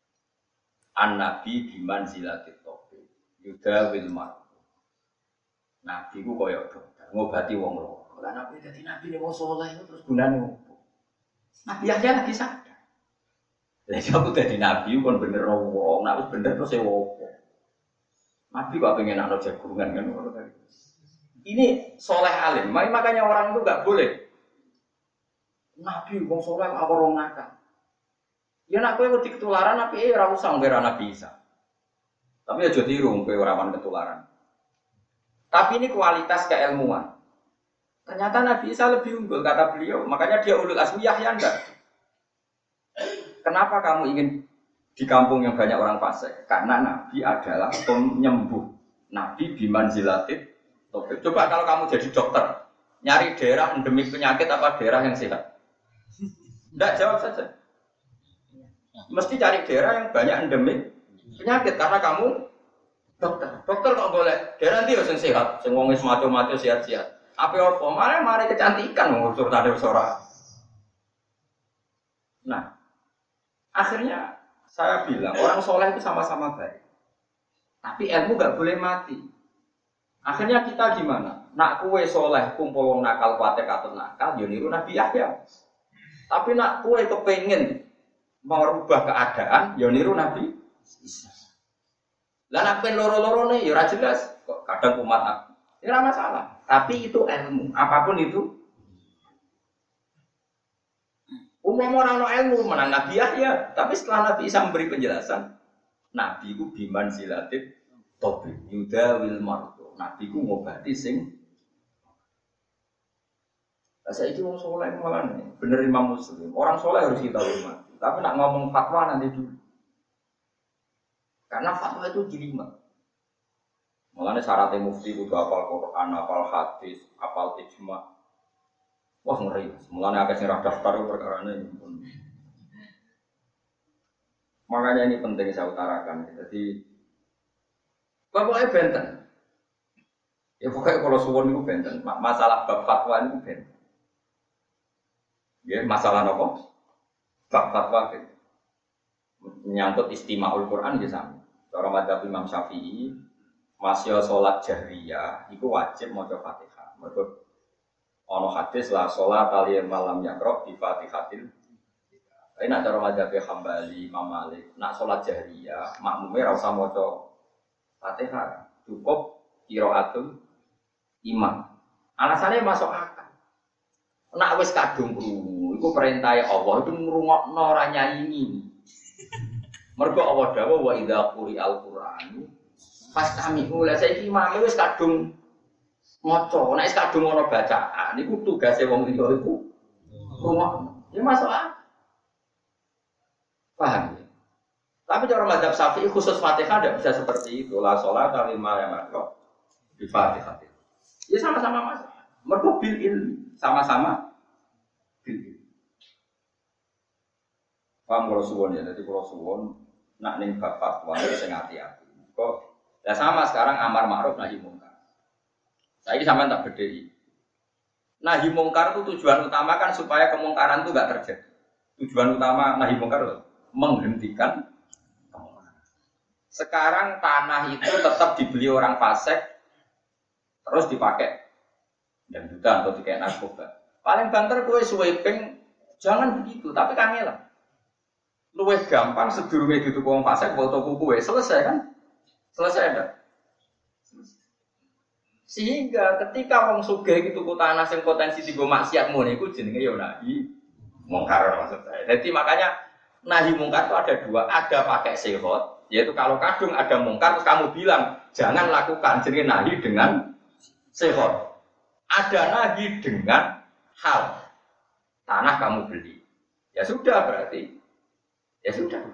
An-Nabi biman zilatit tobi. Yuda wilmar. Nabi ku koyok dokter. Ngobati wong loro. Lah Nabi dadi Nabi ini wong soleh terus gunane opo? Nabi Yahya lagi sadar. Lah aku dadi Nabi kon bener wong. Nek wis bener terus e opo? Nabi kok pengen ana jagungan kan. Ini soleh alim. Makanya orang itu enggak boleh Nabi wong saleh apa wong nakal. Ya nek kowe wedi ketularan apike ora usah ngger Nabi Isa. Tapi aja tiru kowe ora wan ketularan. Tapi ini kualitas keilmuan. Ternyata Nabi Isa lebih unggul kata beliau, makanya dia ulul azmi Yahya enggak. Kenapa kamu ingin di kampung yang banyak orang fasik? Karena Nabi adalah penyembuh. Nabi bimanzilatit tobib. Coba kalau kamu jadi dokter, nyari daerah endemik penyakit apa daerah yang sehat? Tidak, jawab saja. Mesti cari daerah yang banyak endemik penyakit karena kamu dokter. Dokter kok boleh daerah nanti yang sehat, sing wong wis mati-mati sehat-sehat. Apa mari kecantikan ngusur tadi ora. Nah, akhirnya saya bilang orang soleh itu sama-sama baik. Tapi ilmu enggak boleh mati. Akhirnya kita gimana? Nak kue soleh kumpul wong nakal kuatek atau nakal, yo niru Nabi Yahya. Tapi nak kue kepengen merubah keadaan, ya niru Nabi Isa. Lah nak pen loro-loro nih, ya ora jelas. Kok kadang umat aku. Ya ora masalah. Tapi itu ilmu, apapun itu. Umum orang no ilmu menang Nabi Yahya, tapi setelah Nabi Isa memberi penjelasan, Nabi ku biman zilatit tobi yuda wil marto. Nabi ku ngobati sing saya itu orang soleh malah nih, bener Imam Muslim. Orang soleh harus kita hormati. Tapi nak ngomong fatwa nanti dulu. Karena fatwa itu jelimet. Makanya syaratnya mufti butuh hafal Quran, hafal hadis, hafal ijma. Wah ngeri. Mulanya agak sing daftar perkara ini. Makanya ini penting saya utarakan. Jadi pokoknya benten. Ya pokoknya kalau suwon itu benten. Masalah bab fatwa itu benten. Ya, masalah apa? Bab fatwa gitu. Menyangkut istimaul Quran ya sama. Cara madzhab Imam Syafi'i, masya sholat jahriyah itu wajib maca Fatihah. Mergo ana hadis la sholat ali malam yaqra bi Fatihatil. Tapi nak cara madzhab Hambali, Imam Malik, nak sholat jahriyah makmume ora usah maca Fatihah, cukup qiraatul imam. Alasannya masuk akal. Nak wis kadung krungu, iku perintah Allah itu ngrungokno ora nyanyi. Mergo Allah dawuh wa idza quri'al Qur'an fastami'u la saiki imam wis kadung maca, nek wis kadung ana bacaan iku tugase wong liya iku rungokno. Ya masuk akal. Paham ya? Tapi cara mazhab Syafi'i khusus Fatihah tidak bisa seperti itu. La sholat lima yang makro di Fatihah. Ya sama-sama mas. Mergo bil ilmi, sama-sama bil ilmi. Paham kalau suwon ya, jadi kalau suwon nak ning bab fatwa itu sing hati-hati. Kok ya sama sekarang amar ma'ruf nahi mungkar. Saiki sampean tak bedheki. Nahi mungkar itu tujuan utama kan supaya kemungkaran itu enggak terjadi. Tujuan utama nahi mungkar itu menghentikan kemungkaran. Sekarang tanah itu tetap dibeli orang fasik terus dipakai dan juga atau dikai narkoba. Paling banter kowe sweeping jangan begitu, tapi kangelan. Luwih gampang sedurunge dituku wong fasik foto kuku selesai kan? Selesai enggak? Sehingga ketika wong sugih tuku tanah sing potensi dienggo maksiat ngono iku jenenge ya nahi mungkar maksud saya. Jadi makanya nahi mungkar itu ada dua, ada pakai sihot, yaitu kalau kadung ada mungkar terus kamu bilang jangan lakukan, jenenge nahi dengan sihot. Ada nahi dengan hal tanah kamu beli. Ya sudah berarti ya sudah.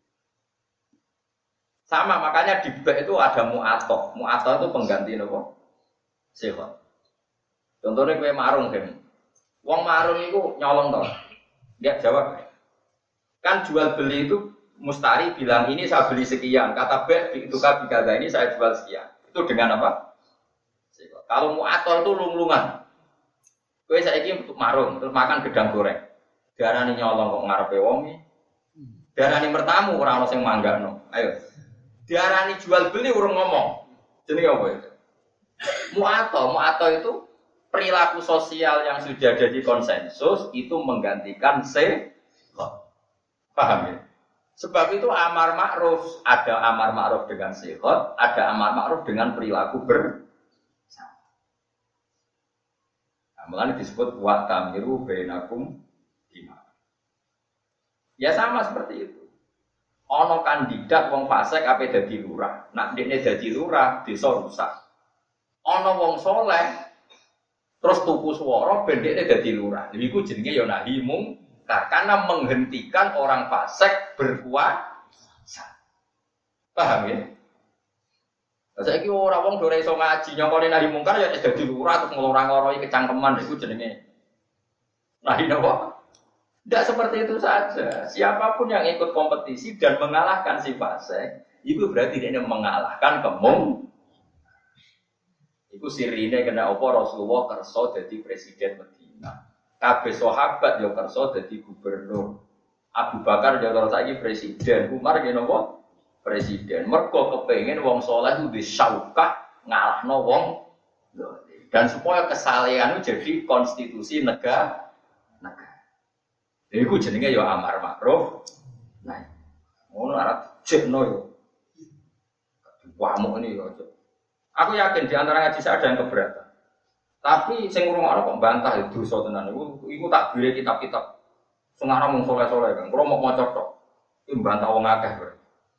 Sama makanya di bab itu ada mu'atok. Mu'atok itu pengganti apa? Sihot. Contohnya kowe marung kan. Wong marung itu nyolong toh. Dia jawab. Kan jual beli itu mustari bilang ini saya beli sekian. Kata B itu kan dikata ini saya jual sekian. Itu dengan apa? Sihot. Kalau mu'atok itu lung-lungan. Kowe saiki untuk marung terus makan gedang goreng. Diarani nyolong kok ngarepe wong iki. Diarani mertamu ora ono sing manggakno. Ayo. Diarani jual beli urung ngomong. Jenenge apa itu? Mu'ato itu perilaku sosial yang sudah jadi konsensus itu menggantikan sihot. Paham ya? Sebab itu amar ma'ruf, ada amar ma'ruf dengan sihot, ada amar ma'ruf dengan perilaku bersama. Nah, makanya disebut wa tamiru bainakum bima. Ya sama seperti itu. Ono kandidat wong fasik ape dadi lurah. Nak dekne dadi lurah, desa rusak. Ono wong soleh terus tuku swara ben dekne dadi lurah. Iku jenenge ya nahi mungkar karena menghentikan orang fasik berkuasa. Paham ya? Saiki ora wong do ora iso ngaji nyongkone nahi mungkar ya dadi lurah terus nglorang-loroi kecangkeman iku jenenge nahi napa? Tidak seperti itu saja. Siapapun yang ikut kompetisi dan mengalahkan si fasik, itu berarti dia mengalahkan kemung. Itu sirine kena apa Rasulullah kerso jadi presiden Madinah. Kabeh sahabat yo kerso jadi gubernur. Abu Bakar yo terus saiki presiden. Umar yo napa? Presiden. Mergo kepengin wong saleh itu disyaukah ngalahno wong. Dan supaya kesalehan itu jadi konstitusi negara. Iku jenenge ya amar ma'ruf. Nah, ngono arep jekno yo. Wamuk ini yo. Aku yakin di antara ngaji saya ada yang keberatan. Tapi sing ngrungokno kok bantah itu dosa tenan. Iku tak bire kitab-kitab sing aran mung soleh-soleh kan. Kulo mau maca tok. Iki bantah wong akeh kok.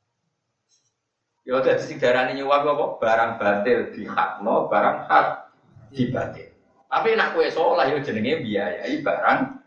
Ya dadi sing darani nyuwak apa? Barang batil dihakno, barang hak dibatil. Tapi nek kowe soleh yo jenenge biayai barang.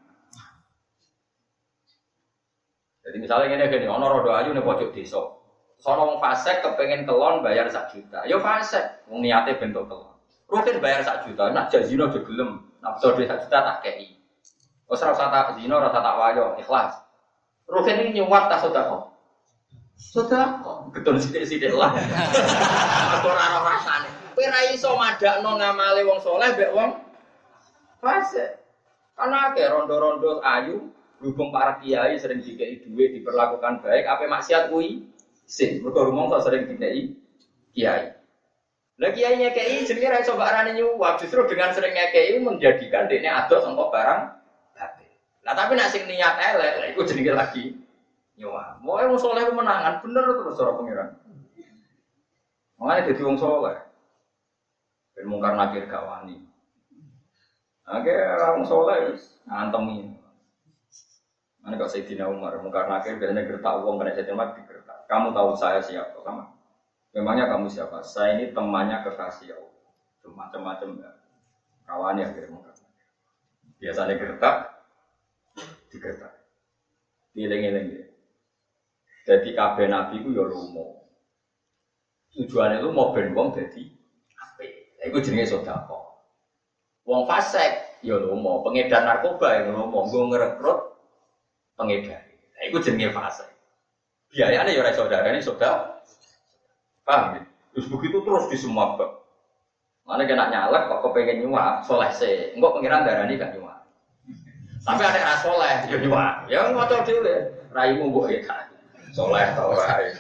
Jadi misalnya ini ono rodo ayu nih pojok desa. Sono wong fasik kepengen kelon bayar 1 juta. Yo fasik, wong niate bentuk kelon. Rutin bayar 1 juta, nak jazino aja gelem. Nak betul 1 juta tak kei. Wes ora usah tak zino, ora usah tak wayo, ikhlas. Rutin ini nyuwat tak sedekah. Sedekah, betul sithik-sithik lah. Aku ora ana rasane. Kowe ra iso madakno ngamale wong saleh mbek wong fasik. Ana akeh rondo-rondo ayu. Berhubung para kiai sering dikei duit diperlakukan baik, apa maksiat kuwi? Sing mergo rumangsa sering dikai kiai. Lah kiai ngekei jenenge ra iso mbok arani nyuwap, justru dengan sering ngekei menjadikan dekne adoh sangka barang batil. Lah tapi nek sing niat elek, lha iku jenenge lagi nyuwap. Moe wong saleh ku menangan bener terus cara pengiran. Mulane dadi wong saleh. Ben mungkar nakir gak wani. Oke, wong saleh ngantemi. Ana kok Sayyidina Umar mungkar nakir biasanya gertak wong kena Sayyidina Umar digertak. Kamu tahu saya siapa? Sama. Memangnya kamu siapa? Saya ini temannya kekasih Allah. Macam-macam ya. Kawannya akhirnya mungkar. Biasanya gertak digertak. Dieling-eling. Jadi kabeh nabi ku ya lumo. Tujuane lu mau ben wong dadi apik. Lha iku jenenge sedekah. Wong fasik ya lumo, pengedar narkoba ya lumo, nggo ngrekrut pengedar. Lha iku jenenge fasik. Biayane ya ora iso darani sedekah. Paham ya? Terus begitu terus di semua bab. Mana kena nyalek kok kepengen nyuap, soleh sih. Engkau pengiran darani gak nyuap. Tapi ada ras soleh, ya nyuap. Ya ngotot dhewe. Raimu mbok ya. Soleh ta ora ya.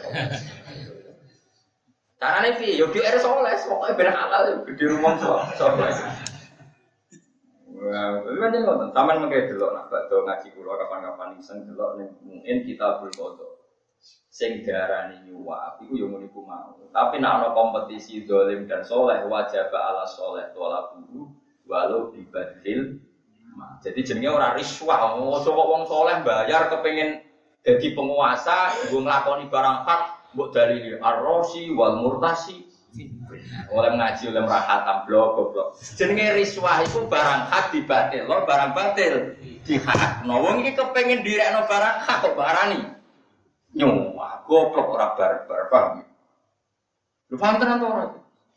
Carane piye? Yo DR soleh, pokoke ben halal di rumah soleh. Wah, kan ngoten. Taman mengke delok nak badhe ngaji kula kapan-kapan iseng delok ning mungkin Kitabul Qadha. Sing diarani nyuwap iku yo ngene iku mau. Tapi nek ana kompetisi zalim dan saleh wajib ala saleh talabu walau dibadil. Jadi jenenge ora riswah, aja kok wong saleh bayar kepengin dadi penguasa, nggo nglakoni barang hak, mbok dalili ar-rasi wal murtasi. Oleh ngaji oleh rahatam blok. Jenenge riswah iku barang hak dibatil, lho barang batil dihakno. Wong iki kepengin direkno barang hak kok barani. Nyuwah, goblok ora barbar, paham? Lu paham tenan ora?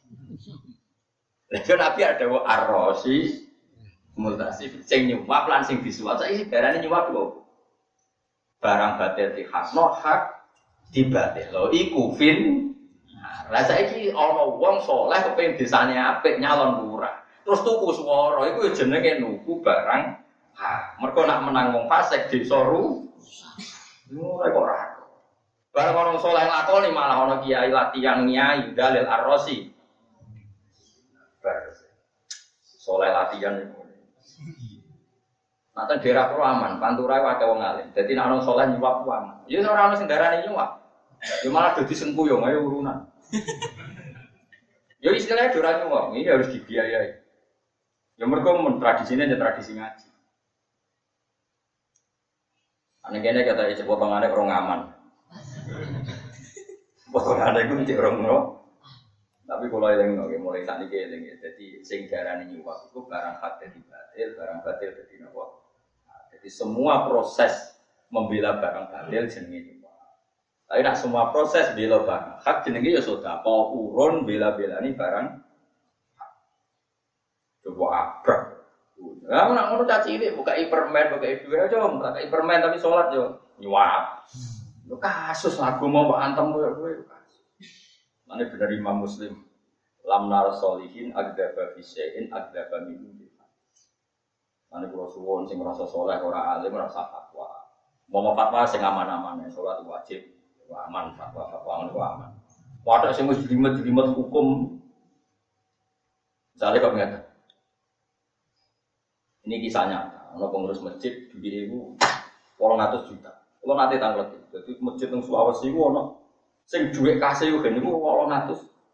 Lha Nabi ada wa ar-rasi multasi sing nyuwah lan sing disuwat saiki darane nyuwah lho. Barang batil dihakno, hak dibatil. Lho iku fin. Lah saiki ana wong saleh kepengin desane apik nyalon lurah. Terus tuku swara iku jenenge nuku barang hak. Mergo nak menang wong fasik desa rusak. Ora kok ora. Barang orang soleh lakoni malah orang kiai latihan nyai dalil ar-rasi. Soleh latihan itu. Nanti daerah pro aman, pantura wae wong alim. Jadi nek orang soleh nyuwap aman. Ya ora ono sing darani nyuwap. Ya malah dadi sengkuyung ayo urunan. Ya istilahnya ora nyuwap, ini harus dibiayai. Ya mergo tradisine ya tradisi ngaji. Ane kene kata iki potongane orang aman. Potongane iku cek orang no. Tapi kalau eleng mulai saat ini eleng ya. Jadi sing darani nyuwap itu barang hak dadi batil, barang batil dadi napa. Jadi semua proses membela barang batil jenenge nyuwap. Tapi nak semua proses bela barang hak jenenge ya sedekah, urun bela-belani barang hak. Coba abrak. Lah nak ngono caci cilik buka permen, buka dua aja, buka permen tapi salat yo nyuwap. Lu kasus lagu mau antem kowe kasus. Mane bener Imam Muslim. Lam nar solihin agdaba fi syai'in agdaba min. Mane kula suwun sing ngrasa saleh ora alim ora usah fatwa. Mau fatwa sing aman-aman, salat wajib, aman fatwa ngono aman. Padha sing wis jelimet-jelimet hukum. Misale kok ngene. Ini kisahnya, ana pengurus masjid duwe iku 800 juta. Kalau nanti tanglet, jadi masjid yang Sulawesi itu ada sing duit kasih itu kan itu 800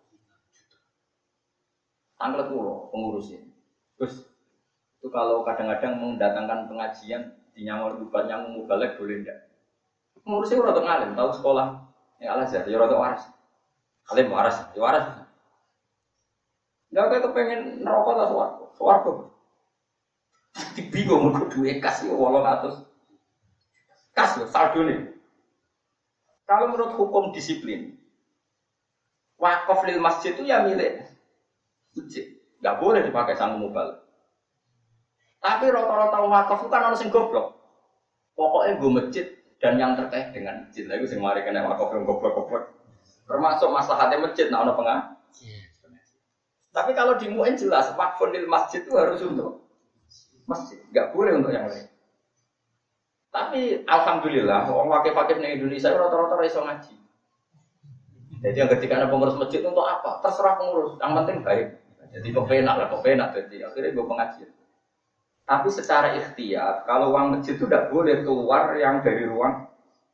tanglet pulau pengurusnya. Terus itu kalau kadang-kadang mendatangkan pengajian di nyamar bukan yang mubalek boleh enggak? Pengurusnya udah ngalim, tahu sekolah yang Al-Azhar, ya udah waras, alim waras, ya waras. Enggak kayak kepengen neraka atau suwargo. Bingung mergo duit kasih 800. Kas saldo nih. Kalau menurut hukum disiplin, wakaf lil masjid itu ya milik masjid, nggak boleh dipakai sanggup mubal. Tapi rata-rata wakaf itu kan orang sing goblok. Pokoknya gue masjid dan yang terkait dengan masjid. Lalu sing mari kena wakaf yang goblok-goblok. Termasuk maslahatnya masjid, nah ono pengah. Tapi kalau di MUN jelas wakaf lil masjid itu harus untuk masjid, nggak boleh untuk yang lain. Tapi alhamdulillah, orang wakil-wakil di Indonesia rata-rata iso ngaji. Jadi yang ketika ada pengurus masjid untuk apa? Terserah pengurus, yang penting baik. Jadi kepenak, jadi akhirnya gue pengajian. Tapi secara ikhtiar, kalau uang masjid itu tidak boleh keluar yang dari ruang.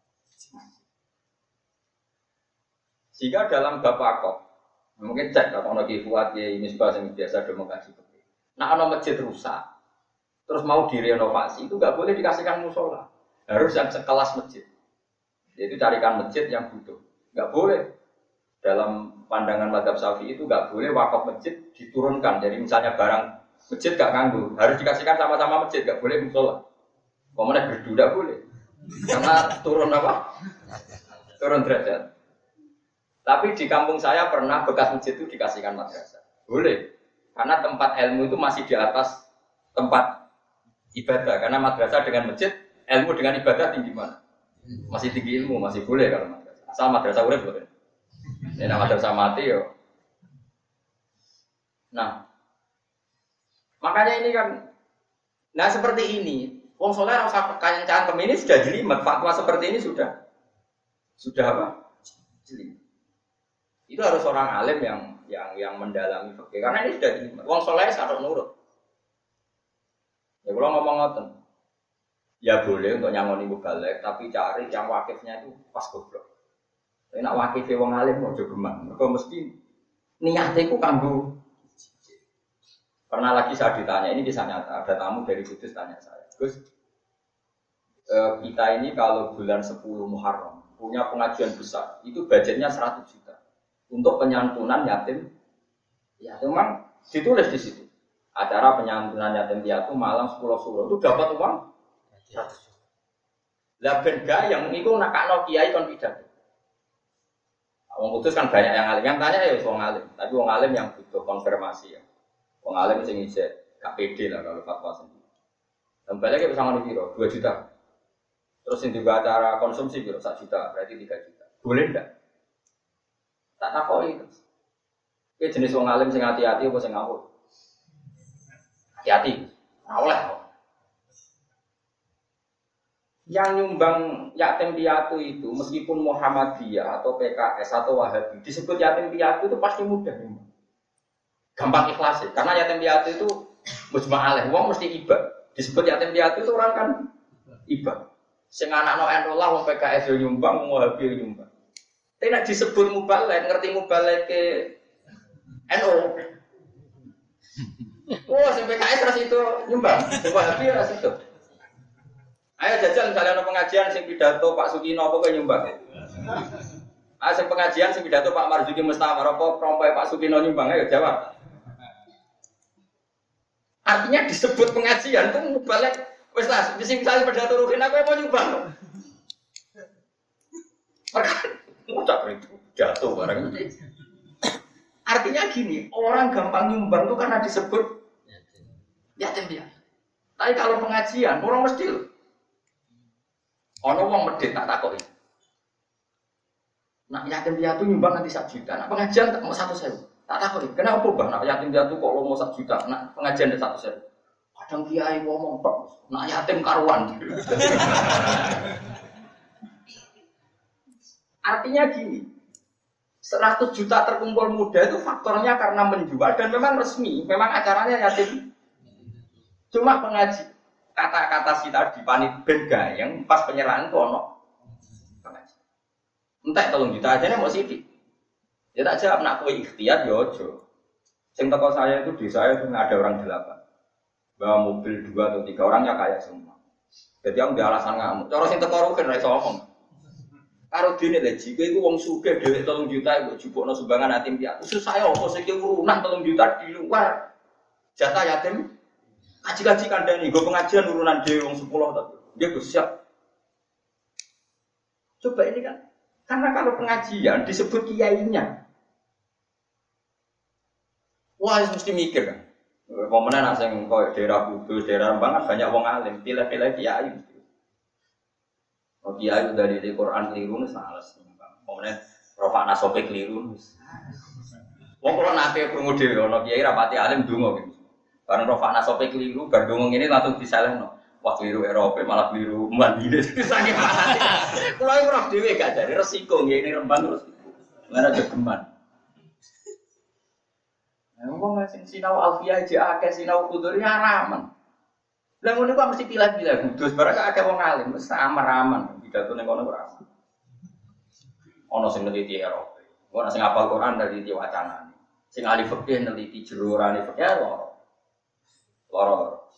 Sehingga dalam Bapakok, mungkin cek kalau ada kifuat ya ini juga yang biasa ada mengkaji. Nah, kalau masjid rusak, terus mau direnovasi itu nggak boleh dikasihkan musola, harus yang sekelas masjid. Jadi carikan masjid yang butuh, nggak boleh. Dalam pandangan mazhab Syafi'i itu nggak boleh wakaf masjid diturunkan. Jadi misalnya barang masjid nggak nganggur, harus dikasihkan sama-sama masjid, nggak boleh musola. Pemenang berdu nggak boleh, karena turun apa? Turun derajat. Tapi di kampung saya pernah bekas masjid itu dikasihkan madrasah. Boleh, karena tempat ilmu itu masih di atas tempat ibadah. Karena madrasah dengan masjid, ilmu dengan ibadah tinggi mana? Masih tinggi ilmu, masih boleh kalau madrasah. Asal madrasah urip boleh. Ini madrasah mati yo. Nah, makanya ini kan, nah seperti ini, wong soleh rasa kekancan ini sudah jelimet, fatwa seperti ini sudah apa? Jelimet. Itu harus orang alim yang mendalami fikih, karena ini sudah jelimet. Wong soleh sarok nurut. Ya kalau ngomong ngoten, ya boleh untuk nyangoni mubalek, tapi cari yang wakifnya itu pas goblok. Tapi nak wakifnya wong alim mau juga gemang, mereka mesti niatnya itu kanggo. Pernah lagi saya ditanya, ini kisah nyata, ada tamu dari Kudus tanya saya, Gus, kita ini kalau bulan 10 Muharram punya pengajian besar, itu budgetnya 100 juta untuk penyantunan yatim. Ya, memang ditulis di situ. Acara penyantunan yatim piatu malam 10 suro itu dapat uang 100 juta. Lah ben gayeng niku nakakno kiai kon pidato. Wong Kudus kan banyak yang alim, yang tanya ya wong alim, tapi wong alim yang butuh konfirmasi ya. Wong alim sing ijek KPD lah kalau fatwa sendiri. Tambah lagi bersama di piro 2 juta. Terus yang juga acara konsumsi piro 1 juta, berarti 3 juta. Boleh ndak? Tak takoki itu. Ki jenis wong alim sing hati-hati apa sing ngawur? Hati-hati. Ora oleh. Yang nyumbang yatim piatu itu meskipun Muhammadiyah atau PKS atau Wahabi disebut yatim piatu itu pasti mudah nyumbang. Gampang ikhlas ya. Karena yatim piatu itu mujma' alaih, wong mesti iba. Disebut yatim piatu itu orang kan iba. Sing anakno NU lah wong PKS yo nyumbang, wong Wahabi yo nyumbang. Tapi nek disebut mubalek, ngerti mubalek ke NU. Oh, sing PKS ras itu nyumbang, sing Wahabi ras itu. Ayo jajal misalnya ada pengajian sing pidato Pak Sukino apa kok nyumbang. Ah sing pengajian sing pidato Pak Marzuki Mustafar apa prompai Pak Sukino nyumbang ayo jawab. Artinya disebut pengajian itu mubalek wis lah sing misalnya pidato Ruhin aku mau nyumbang. Perkara ucap itu jatuh barang. Artinya gini, orang gampang nyumbang itu karena disebut yatim piatu. Tapi kalau pengajian orang mesti ono wong medhit tak takoki. Nak yatim piatu nyumbang nanti 1 juta. Nak pengajian tak mau 100.000. Tak takoki. Kenapa Bang? Nak yatim piatu kok lo mau 1 juta. Nak pengajian ada 100.000. Kadang kiai ngomong tok. Nak yatim karuan. Artinya gini. 100 juta terkumpul muda itu faktornya karena menjual dan memang resmi, memang acaranya yatim. Cuma pengaji kata-kata si tadi panit ben gayeng pas penyerahan itu ono pengaji. Entek 3 juta aja nih mau sidik. Ya tak jawab nak kowe ikhtiar ya aja. Sing teko saya itu di saya itu ada orang 8. Bawa mobil 2 atau 3 orangnya kaya semua. Jadi aku di alasan ngamuk. Cara sing teko rugen ra iso ngomong. Karo dene lho jika iku wong sugih dhewek 3 juta iku jupukno sumbangan yatim piatu. Susah ya apa sing urunan 3 juta di luar jatah yatim. Kaji-kaji kandani, gue pengajian urunan dia orang 10 tapi dia siap. Coba ini kan, karena kalau pengajian disebut kiainya, wah mesti mikir kan. Pemenang nasi kau daerah Kudus, daerah Rembang banyak wong alim, pilih-pilih kiai. Oh kiai itu dari Quran keliru nih salah sih. Pemenang Rafa Nasope keliru. Wong kalau nanti perlu dewi, kalau kiai rapati alim dungo gitu. Karena Rofakna sope keliru, gandung ini langsung disalahno. Wah keliru Eropa malah keliru Mandiri. Saking panas. Kalau yang roh dewe gak jadi resiko, ini Rembang resiko. Mana jogeman. Ngomong sing sinau alfiah aja akeh sinau kudur ya ramen. Lah ngono kok mesti pilih-pilih kudus barang akeh wong alim wis ramen pidato ning kono ora. Ono sing neliti Eropa. Ono sing hafal Quran dari neliti wacanane. Sing ahli fikih neliti jerurane fikih loro.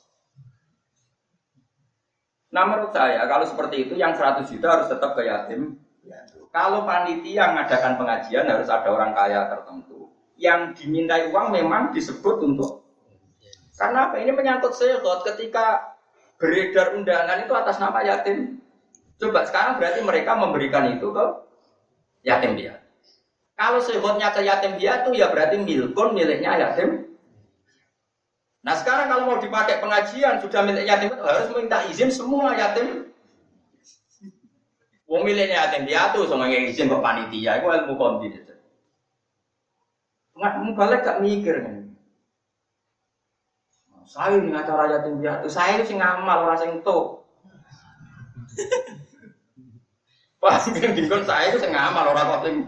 Nah menurut saya kalau seperti itu yang 100 juta harus tetap ke yatim. Kalau panitia mengadakan pengajian harus ada orang kaya tertentu. Yang dimintai uang memang disebut untuk karena apa? Ini menyangkut sehot ketika beredar undangan itu atas nama yatim. Coba sekarang berarti mereka memberikan itu ke yatim piatu. Kalau sehotnya ke yatim piatu ya berarti miliknya yatim. Nah sekarang kalau mau dipakai pengajian sudah milik yatim harus minta izin semua yatim. Wong miliknya yatim piatu sama yang izin ke panitia itu ilmu konti. Nggak balik gak mikir kan? Saya ini acara yatim piatu, saya itu sing ngamal orang sing tuh. Pas dingkon saya itu sing ngamal orang kok sing.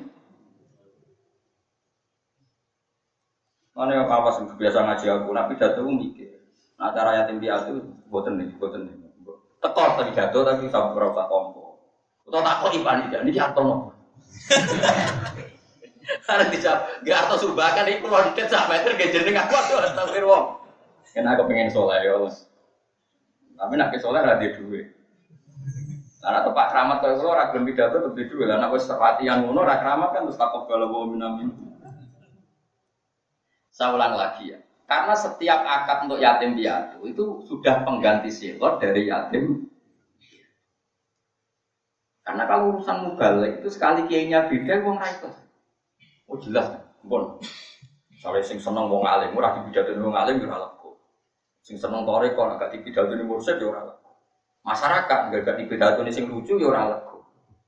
Mana yang apa sih biasa ngaji aku, tapi jatuh mikir. Nah acara yatim piatu, boten nih. Tekor tadi jatuh tapi sampai berapa tompo. Atau takut iban ini jatuh. Karena dijawab, gak harus subahkan itu lontet sampai meter gak jeneng aku astagfir wong. Karena aku pengen soleh ya Allah. Tapi nak ke soleh ada duit. Karena tempat keramat kalau lo ragam pidato lebih duit. Karena aku latihan ngono rak keramat kan terus takut kalau bawa minamin. Saya ulang lagi ya. Karena setiap akad untuk yatim piatu itu sudah pengganti silot dari yatim. Karena kalau urusan mubalik itu sekali kiainya beda wong ra iso. Oh jelas, bon. Soale sing seneng wong alim, ora dipidhatoni wong alim yo ora lego. Sing seneng toreko nek gak dipidhatoni mursyid yo ora lego. Masyarakat gak dipidhatoni sing lucu yo ora lego.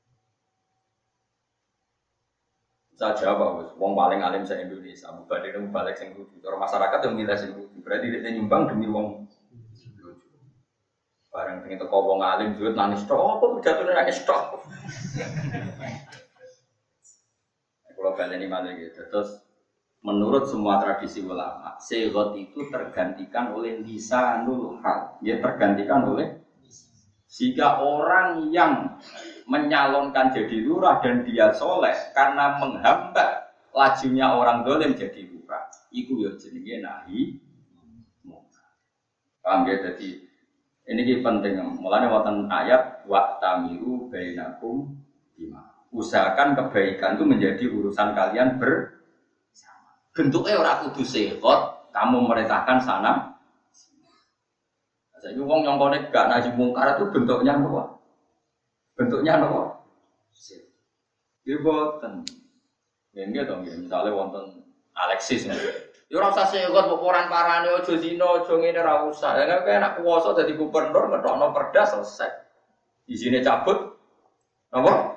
Saja apa wis wong paling alim se Indonesia, mubalik balik sing lucu. Cara masyarakat yo milih sing lucu. Berarti dia nyumbang demi wong lucu. Bareng pengen teko wong alim duit nangis tok, apa pidhatone nangis tok. Kalau kalian ini malah gitu, terus menurut semua tradisi ulama, segot itu tergantikan oleh lisanul hal, dia tergantikan oleh jika orang yang menyalonkan jadi lurah dan dia soleh karena menghambat lajunya orang dolim jadi lurah, itu ya jenenge nahi. Paham ya? Jadi ini penting. Mulanya wonten ayat wa tamiru bainakum bima. Usahakan kebaikan itu menjadi urusan kalian bersama. Bentuknya orang kudu sekot, kamu merintahkan sana. Jadi wong yang konek gak naji mungkar itu bentuknya apa? Bentuknya apa? Dia boten. Ini dong, misalnya wonten Alexis nih. Ya ora usah sekot pokoran parane aja zina, aja ngene ora usah. Ya kan enak kuwasa dadi gubernur ngetokno perda selesai. Izine cabut. Apa?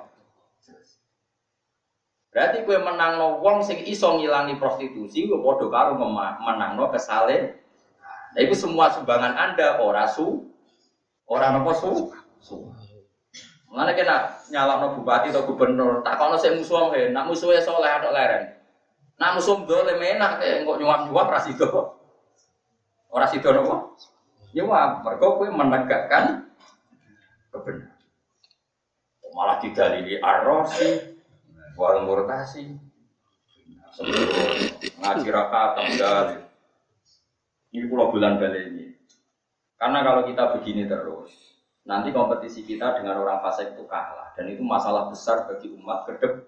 Berarti kowe menangno wong sing iso ngilangi prostitusi kowe padha karo menangno kesale. Nah iku semua sumbangan Anda ora napa su. Mulane kena nyalakno bupati atau gubernur, tak kono sik musuh wae, nak musuhe saleh atok leren. Nak musuh dolem enak kok nyuap-nyuap ra sida. Ora sida napa? Nyuap, mergo kowe menegakkan kebenaran. Malah didalili arrosi wal murtasi sebelum ngaji rakaat dalil. Ini pulau bulan balik ini. Karena kalau kita begini terus, nanti kompetisi kita dengan orang fasik itu kalah dan itu masalah besar bagi umat kedep.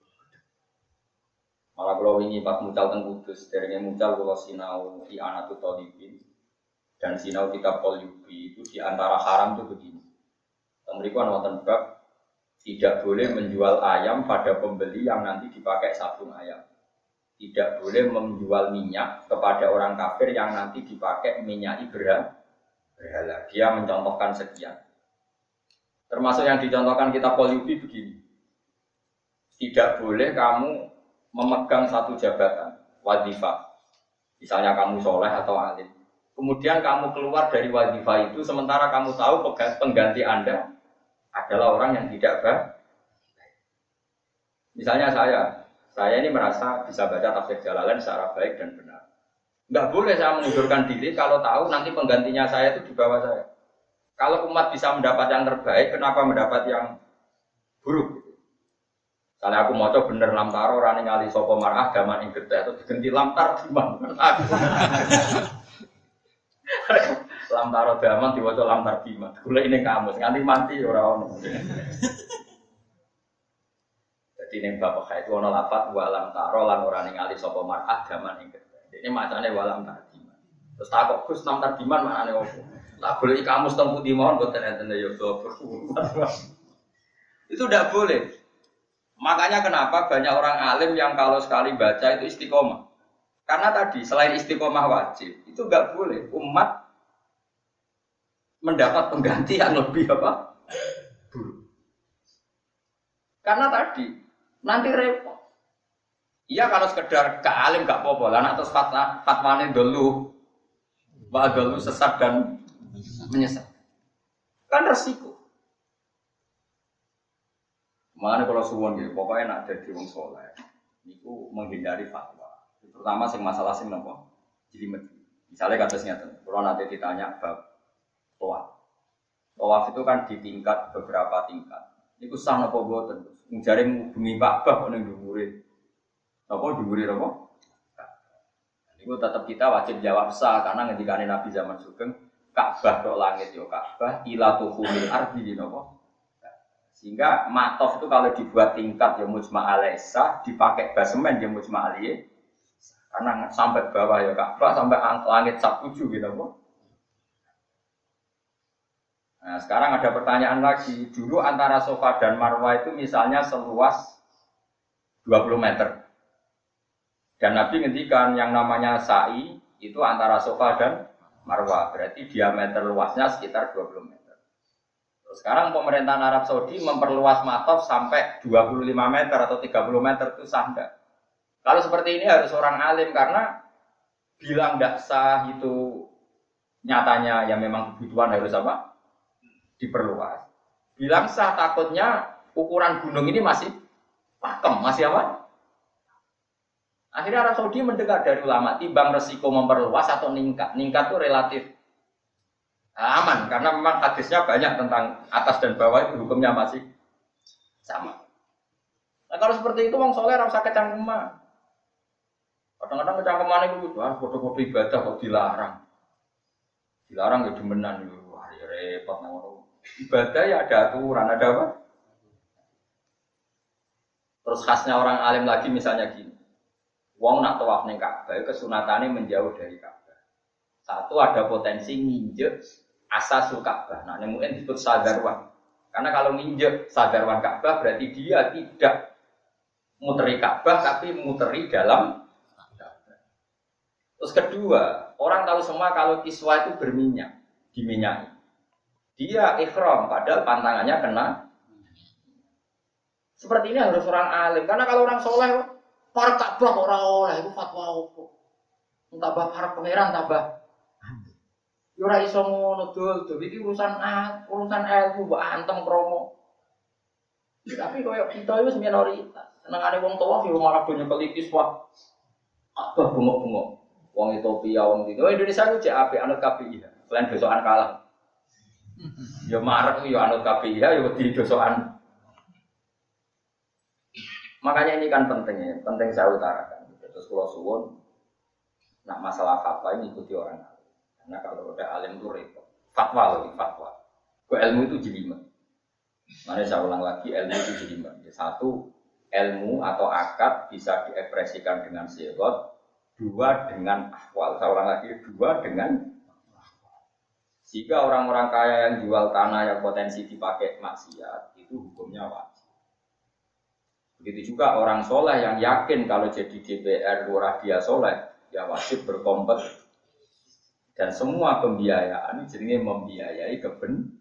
Malah kalau ini pas mucal teng Kudus, dari mucal kalau sinau di Anatul Talibin dan sinau kitab Qalyubi itu di antara haram itu begini. Mereka nonton bab tidak boleh menjual ayam pada pembeli yang nanti dipakai sabung ayam. Tidak boleh menjual minyak kepada orang kafir yang nanti dipakai minyak berhala. Dia mencontohkan sekian. Termasuk yang dicontohkan kitab Qalyubi begini. Tidak boleh kamu memegang satu jabatan, wadifah. Misalnya kamu soleh atau alim. Kemudian kamu keluar dari wadifah itu sementara kamu tahu pengganti Anda adalah orang yang tidak baik. Misalnya Saya ini merasa bisa baca tafsir Jalalain secara baik dan benar. Enggak boleh saya mengundurkan diri kalau tahu nanti penggantinya saya itu di bawah saya. Kalau umat bisa mendapat yang terbaik, kenapa mendapat yang buruk? Kalau aku mau coba bener lamtaro rani ngali sopo marah gaman ing getih itu diganti lamtar diman. Lamtaro gaman diwaca lamtar diman. Gula ini kamus nganti mati ora ono. Jadi ning bab itu ono lafat wa lamtaro lan ora ningali sopo marah gaman ing getih. Ini macane wa lamtar diman. Terus takok Gus lamtar diman maknane opo? Lah golek kamus teng pundi mawon boten enten ya itu tidak boleh. Makanya kenapa banyak orang alim yang kalau sekali baca itu istiqomah. Karena tadi selain istiqomah wajib, itu nggak boleh umat mendapat pengganti yang lebih apa? Buruk. Karena tadi nanti repot. Iya kalau sekedar ke alim nggak apa-apa. Lah atas fatwane dulu, dulu sesat dan menyesat. Kan resiko. Makanya kalau suwon gitu, pokoknya nak jadi wong soleh, itu menghindari fatwa. Terutama sing masalah sing nopo, jelimet. Misalnya kasusnya tuh, kalau nanti ditanya bab tawaf, tawaf itu kan di tingkat beberapa tingkat. Itu sah nopo boten, mencari bumi Ka'bah kok neng dhuwure, nopo dhuwure nopo. Itu tetap kita wajib jawab sah karena ngendikane Nabi zaman Sugeng, Ka'bah tok langit yo Ka'bah, ila tuhumil ardi nopo. Sehingga matof itu kalau dibuat tingkat ya mujma' alaisa, dipakai basemen ya mujma' aliyah. Karena sampai bawah ya Ka'bah, sampai langit sak 7 gitu. Nah sekarang ada pertanyaan lagi. Dulu antara Safa dan Marwah itu misalnya seluas 20 meter. Dan Nabi ngendikan yang namanya sa'i itu antara Safa dan Marwah. Berarti diameter luasnya sekitar 20 meter. Sekarang pemerintahan Arab Saudi memperluas matof sampai 25 meter atau 30 meter itu sah enggak? Kalau seperti ini harus orang alim karena bilang tidak sah itu nyatanya ya memang kebutuhan harus apa? Diperluas. Bilang sah takutnya ukuran gunung ini masih pakem, masih apa? Akhirnya Arab Saudi mendengar dari ulama timbang resiko memperluas atau ningkat. Ningkat itu relatif aman karena memang hadisnya banyak tentang atas dan bawah itu hukumnya masih sama. Nah kalau seperti itu wong soleh ora usah kecangkeman. Kadang-kadang kecangkeman itu foto-foto ibadah kok dilarang. Dilarang ya demenan itu. Wah ya repot nang ibadah ya ada aturan, ada apa? Terus khasnya orang alim lagi misalnya gini. Wong nak tawaf ning Ka'bah kesunatane menjauh dari Ka'bah. Satu ada potensi nginjek asasul Ka'bah. Nah, yang mungkin disebut sadarwan. Karena kalau nginjek sadarwan Ka'bah berarti dia tidak muteri Ka'bah tapi muteri dalam Ka'bah. Terus kedua, orang tahu semua kalau kiswah itu berminyak, diminyaki. Dia ikhram padahal pantangannya kena. Seperti ini harus orang alim. Karena kalau orang soleh, para Ka'bah orang oleh itu fatwa apa? Tambah para pangeran tambah. Ora iso ngono dul, iki urusan ilmu mbok antem kromo. Tapi koyo kita itu minoritas. Senengane wong tuwa yo malah banyak kelikis wah. Abah bengok-bengok. Wong Ethiopia wong di Indonesia ku cek apik anut KPI. Selain dosokan kalah. Yo marek yo anut KPI yo di dosokan. Makanya ini kan penting saya utarakan. Terus kula suwun nak masalah fatwa ini ikuti orang. Karena kalau udah alim itu repot. Fatwa lagi fatwa. Ke ilmu itu jelimet. Mari saya ulang lagi ilmu itu jelimet. Satu, ilmu atau akad bisa diekspresikan dengan sigot. Dua dengan ahwal. Saya ulang lagi, dua dengan ahwal. Jika orang-orang kaya yang jual tanah yang potensi dipakai maksiat, itu hukumnya wajib. Begitu juga orang soleh yang yakin kalau jadi DPR lurah dia soleh, ya wajib berkompet. Dan semua pembiayaan ini jenenge membiayai kebenaran.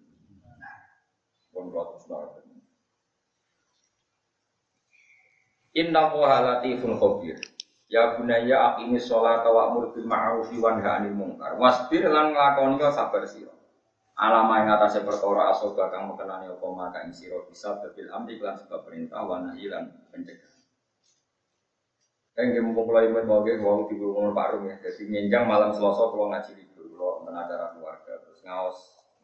Inna Allaha latifun khabir. Ya bunayya aqimis sholata wa'mur bil ma'rufi wanha 'anil munkar. Wasbir lan nglakoni sabar sira. Alama ing atase perkara asoba kang mekenani apa maka ing sira bisa bil amri lan sebab perintah wa nahi lan pencegah. Nggih mumpung kula imen mawon wau diwong Pak Rum ya. Dadi nyenjang malam Selasa kula ngaji libur kula wonten acara keluarga terus ngaos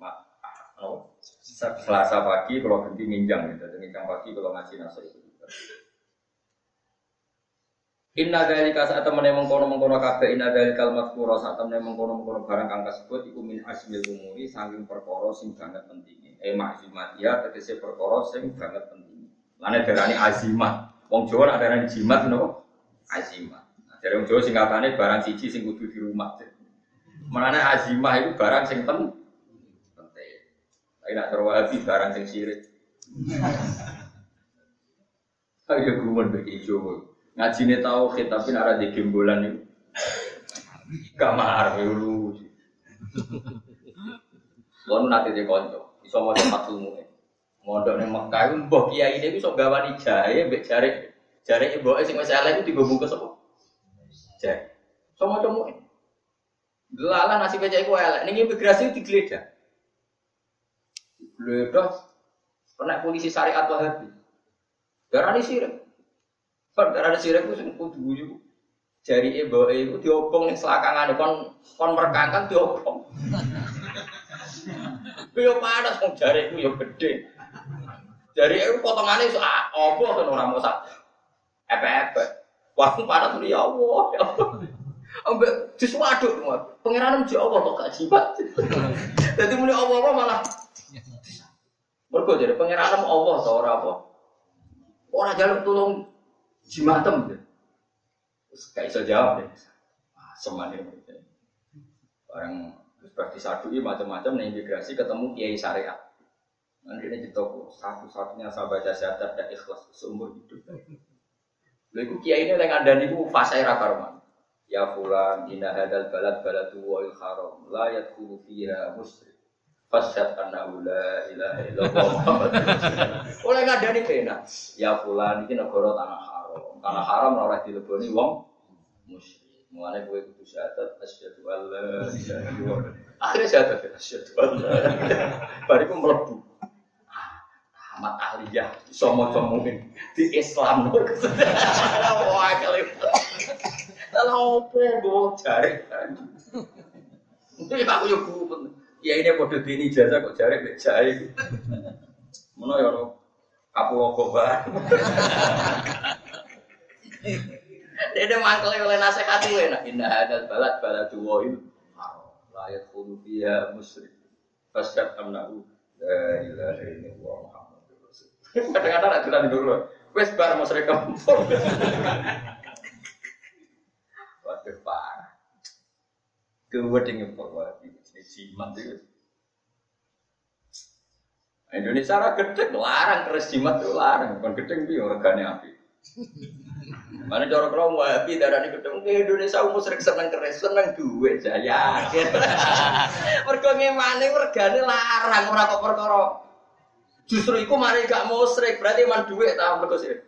Selasa pagi kula ganti nyenjang ya. Dadi nyenjang pagi kula ngaji nasa itu. Inna dzalika saat temene mengkono-mengkono kabeh inna dzalikal mazkura saat temene mengkono-mengkono barang kang kasebut iku min asmil umuri saking perkara sing banget pentinge. Makzimatia tegese perkara sing banget pentinge. Lane darani azimah. Wong Jawa nak darani jimat napa? Azimah. Nah, dari Jawa singkatane barang siji sing kudu di rumah. Menane azimah itu barang sing penting. Tapi nak terwahabi barang sing sirik. Ayo gumun bagi Jawa. Ngajine tauhid tapi nek ora di gembolan niku. Kamar lu. Wong nate de kanca, iso maca matlumu. Mondok ning Mekah iku mbah kiai ne iso gawani jahe mbek jare. Jare mboke sing wis elek iku digo bungkus apa? Jahe. Iso maca mu. Delala nasib cek iku elek, ning imigrasi digeledah. Digeledah kena polisi syariat Wahabi. Darani sirik. Darani sirik ku sing kudu guyu. Jari mboke iku diobong ning selakangane kon merkangkan diobong. Yo panas wong jare iku yo gedhe. Jari iku potongane iso apa kan ora mosak. Epe-epe. Wah, panas ya Allah. Ambek disuwaduk pangeran mesti Allah kok gak jibat. Dadi muni Allah malah mergo jare pangeran Allah ta ora apa. Ora jaluk tulung jimatem. Wis gak iso jawab deh. Semane bareng terus berarti sadui macam-macam ning imigrasi ketemu kiai syariat. Nanti ini ditoko satu-satunya saya baca syahadat dan ikhlas seumur hidup. Lha iku kiai ini lek ngandani iku fasih ra karuan. Ya fulan inna hadzal baladu wal haram la yadkhulu fiha musyrik. Fasyhad anna la ilaha illallah Muhammadur Rasulullah. Oleh ngandani kena. Ya fulan iki negara tanah haram. Tanah haram ora dileboni wong musyrik. Mulane kowe kudu syahadat asyhadu alla ilaha illallah. Akhire syahadat asyhadu alla. Bariku mlebu. Ahmad Aliyah iso maca mungkin di Islam. Wah, kali. Lah opo go jare. Iki aku yo bu. Ya ini padha dini jasa kok jare mek jae. Mono yo kapula gobar. Dene mangkele oleh nasihati kowe nak indah hadal baladu wa'il. La yadkhulu fiha musyrik. Fasyad amnahu la ilaha illallah Muhammadur Rasulullah. Kadang-kadang ada tulisan dulu. Wes bar musyrik kampung. Waduh parah. Kewedenge bahwa ini jimat itu. Indonesia ra gedhe larang keris jimat itu larang, bukan gedhe piye regane apik. Mana cara kula Wahabi darani gedhe Indonesia musyrik seneng keris, seneng duit jaya. Mergo ngemane regane larang ora kok perkara. Justru iku mari gak musyrik, berarti man duit ta mergo sih.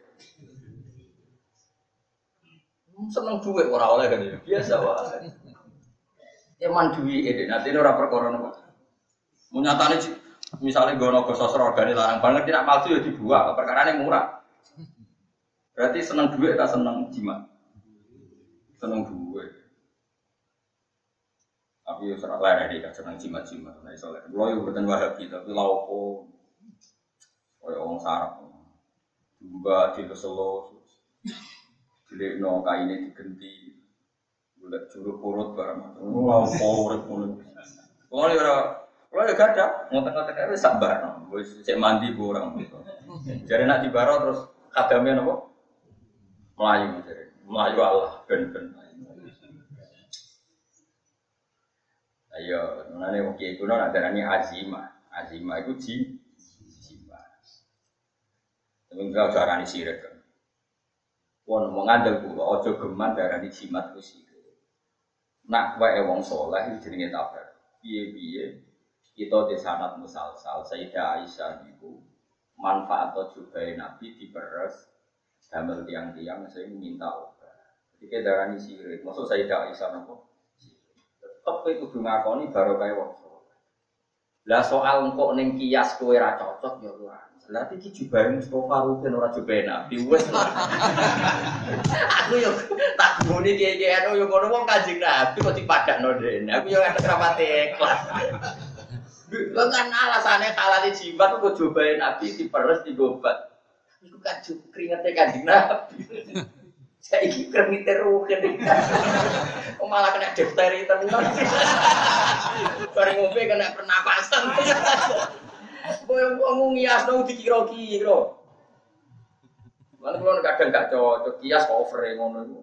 Seneng duit ora oleh kan biasa wae. Ya man duit iki nanti ora perkara napa. Munyatane misale nggono sosro regane larang banget tidak palsu ya dibuang, perkarane murah. Berarti seneng duit tak seneng jimat. Seneng duit. Tapi yo ora lere iki seneng jimat-jimat nek iso lere. Kulo yo mboten Wahabi tapi lha opo koyo wong sarap. Juga dileselo. Dilekno kaine digenti. Golek juru purut barang. Lha opo urip ngono. Kulo yo gak ada, ngotek-ngotek wis sabar. Wis cek mandi ku orang. Jare nak dibaro terus kadame napa? Melayu jare. Melayu Allah ben-ben. Ayo, menane wong kiai kuno nak darani azimah. Azimah iku jimat. Tapi enggak darani sirik. Wong ngandel kula aja geman darani jimat ku sirik. Nak wae wong saleh jenenge tabar. Piye-piye kita di sanad musalsal Sayyidah Aisyah niku manfaat tujubai Nabi diperes damel tiang-tiang sing minta obat. Iki darani sirik. Maksud Sayyidah Aisyah napa? Tetep kudu ngakoni barokah wong saleh. Lah soal engko ning kias kowe ra cocok ya ora. Berarti iki jubahe Mustofa Rukin ora jubahe Nabi wis. Aku yo tak guni kiye-kiye yo ngono wong Kanjeng Nabi kok dipadakno dene. Aku yo ngerti rapati ikhlas. Lha kan alasane halal jimat kok jubahe Nabi diperes digobat. Iku kan kringete Kanjeng Nabi. Saiki kremite Rukin. Malah kena difteri tenan. Bareng ngombe kena pernapasan. Kowe ngomong ngiasno dikira-kira. Lan kula kadang gak cocok kias cover ngono iku.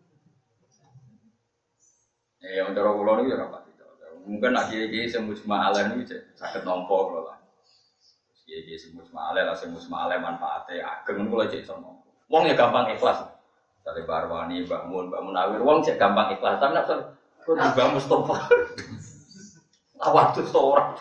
Ya cara kula niku ya ora pati cocok. Mungkin nek iki sing mujma'alan iki saged nampa kula lah. Iki sing mujma'alan lah sing mujma'alan manfaate ageng kula cek iso nampa. Wong ya gampang ikhlas. Sale Barwani, Mbak Mun Awir wong cek gampang ikhlas. Tapi nek kok Mbak Mustofa awak tuh seorang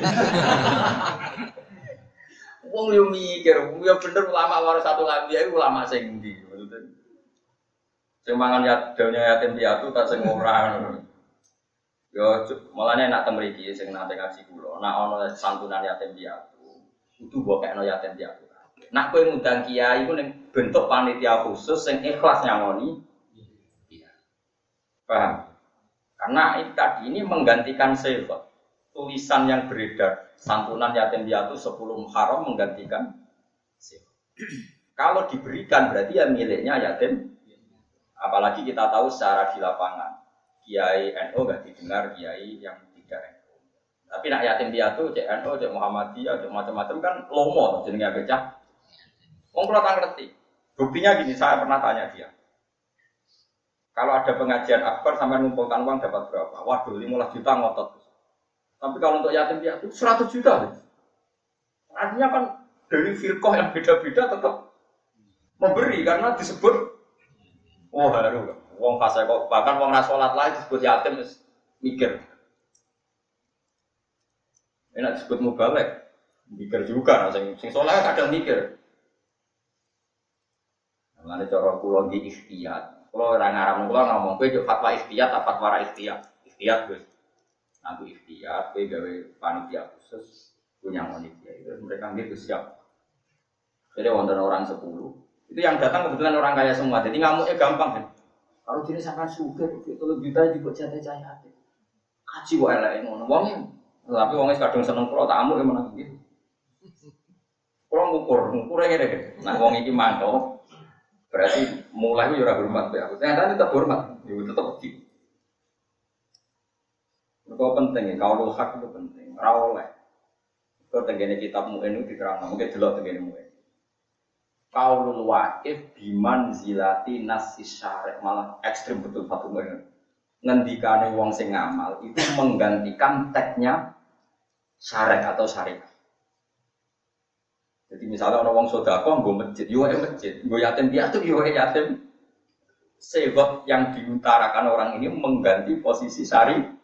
wong yo mikir, yo bener ulama warasatul anbiya iku ulama sing ndi maksudnya. Sing mangan daunnya yatim piatu ta sing ora ngono. Yo malane nak teng mriki sing nate ngaji kula, nak ana santunan yatim piatu, kudu mbok kekno yatim piatu. Nak kowe ngundang kiai iku ning bentuk panitia khusus sing ikhlas nyangoni. Iya. Paham? Karena ini menggantikan sifat. Tulisan yang beredar santunan yatim piatu 10 Muharram menggantikan sifat. Kalau diberikan berarti ya miliknya yatim. Apalagi kita tahu secara di lapangan kiai NU enggak didengar kiai yang tidak NU. Tapi nak yatim piatu cek NU, cek Muhammadiyah, cek macam-macam kan lomo jenenge becah. Wong kula tak ngerti. Buktinya gini, saya pernah tanya dia. Kalau ada pengajian akbar sampai ngumpulkan uang dapat berapa? Waduh, 15 juta ngotot. Tapi kalau untuk yatim piatu 100 juta. Artinya kan dari firqah yang beda-beda tetap memberi karena disebut haru. Wong fase kok bahkan wong ra salat lae disebut yatim mikir. Enak disebut mubalek. Mikir juga sing salat kadang mikir. Mulane cara kula iki ikhtiyat. Kula ora ngaram kula ngomong kowe yo fatwa ikhtiyat apa fatwa ra ikhtiyat. Ikhtiyat wis. Aku ikhtiyat, kowe gawe panitia khusus punya panitia itu mereka nggih siap. Jadi wonten orang 10. Itu yang datang kebetulan orang kaya semua. Jadi ngamuknya gampang kan. Kalau jenis akan suka itu lebih baik juga jatah cahaya. Kaji wae elek ngono wong. Tapi wong kadang seneng kula tak amuk menang gitu. Kula ngukur ngene. Nah wong iki mantau. Berarti mulai yo ora hormat ya. Ternyata tetap hormat, yo tetap di. Itu penting, kaulul hak itu penting. Ora oleh. Itu tenggene kitab Mu'in itu diterangkan, mungkin delok tenggene Mu'in. Kaulul waqif biman zilati nasis syarek malah ekstrim betul Fatul Mu'in. Ngendikane wong sing ngamal itu menggantikan teksnya syarek atau syariat. Jadi misalnya ana wong sedekah nggo masjid, yo masjid, nggo yatim piatu yo yatim. Sebab yang diutarakan orang ini mengganti posisi syariat.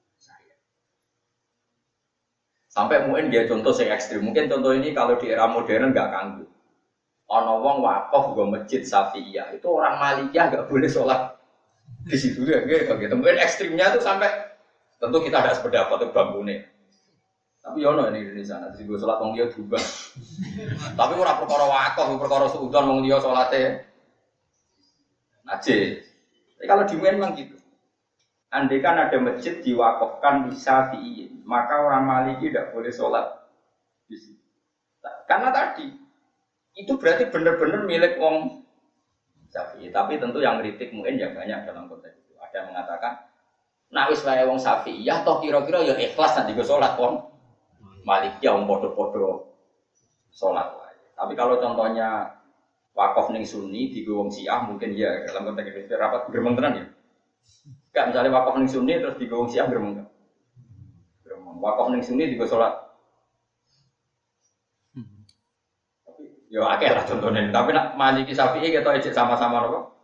Sampai mungkin dia contoh yang ekstrim. Mungkin contoh ini kalau di era modern nggak kanggu. Ono wong wakaf gue masjid Syafi'iyah itu orang Malikiyah nggak boleh sholat di situ ya, gitu. Mungkin ekstrimnya itu sampai tentu kita ada sependapat itu bambune. Tapi ono ini di Indonesia nanti gue sholat wong dia juga. Tapi orang perkara wakaf, perkara suudon wong dia sholatnya najis. Tapi kalau di memang gitu. Andai kan ada masjid diwakafkan di Syafi'i, maka orang Maliki tidak boleh sholat di situ. Karena tadi itu berarti benar-benar milik wong Syafi'i. Tapi tentu yang kritik mungkin ya banyak dalam konteks itu. Ada yang mengatakan, nah wis wae wong Syafi'i, ya toh kira-kira ya ikhlas nanti gue sholat wong Maliki ya wong podo-podo sholat. Tapi kalau contohnya wakaf ning Sunni di wong Syiah mungkin ya dalam konteks itu rapat bermenteran ya. Enggak, misalnya wakaf ning Sunni terus digowong Syiah gremeng. Gremeng. Wakaf ning Sunni digo salat. Tapi yo akeh lah contohnya. Tapi nak Maliki Syafi'i ketok ejek sama-sama napa?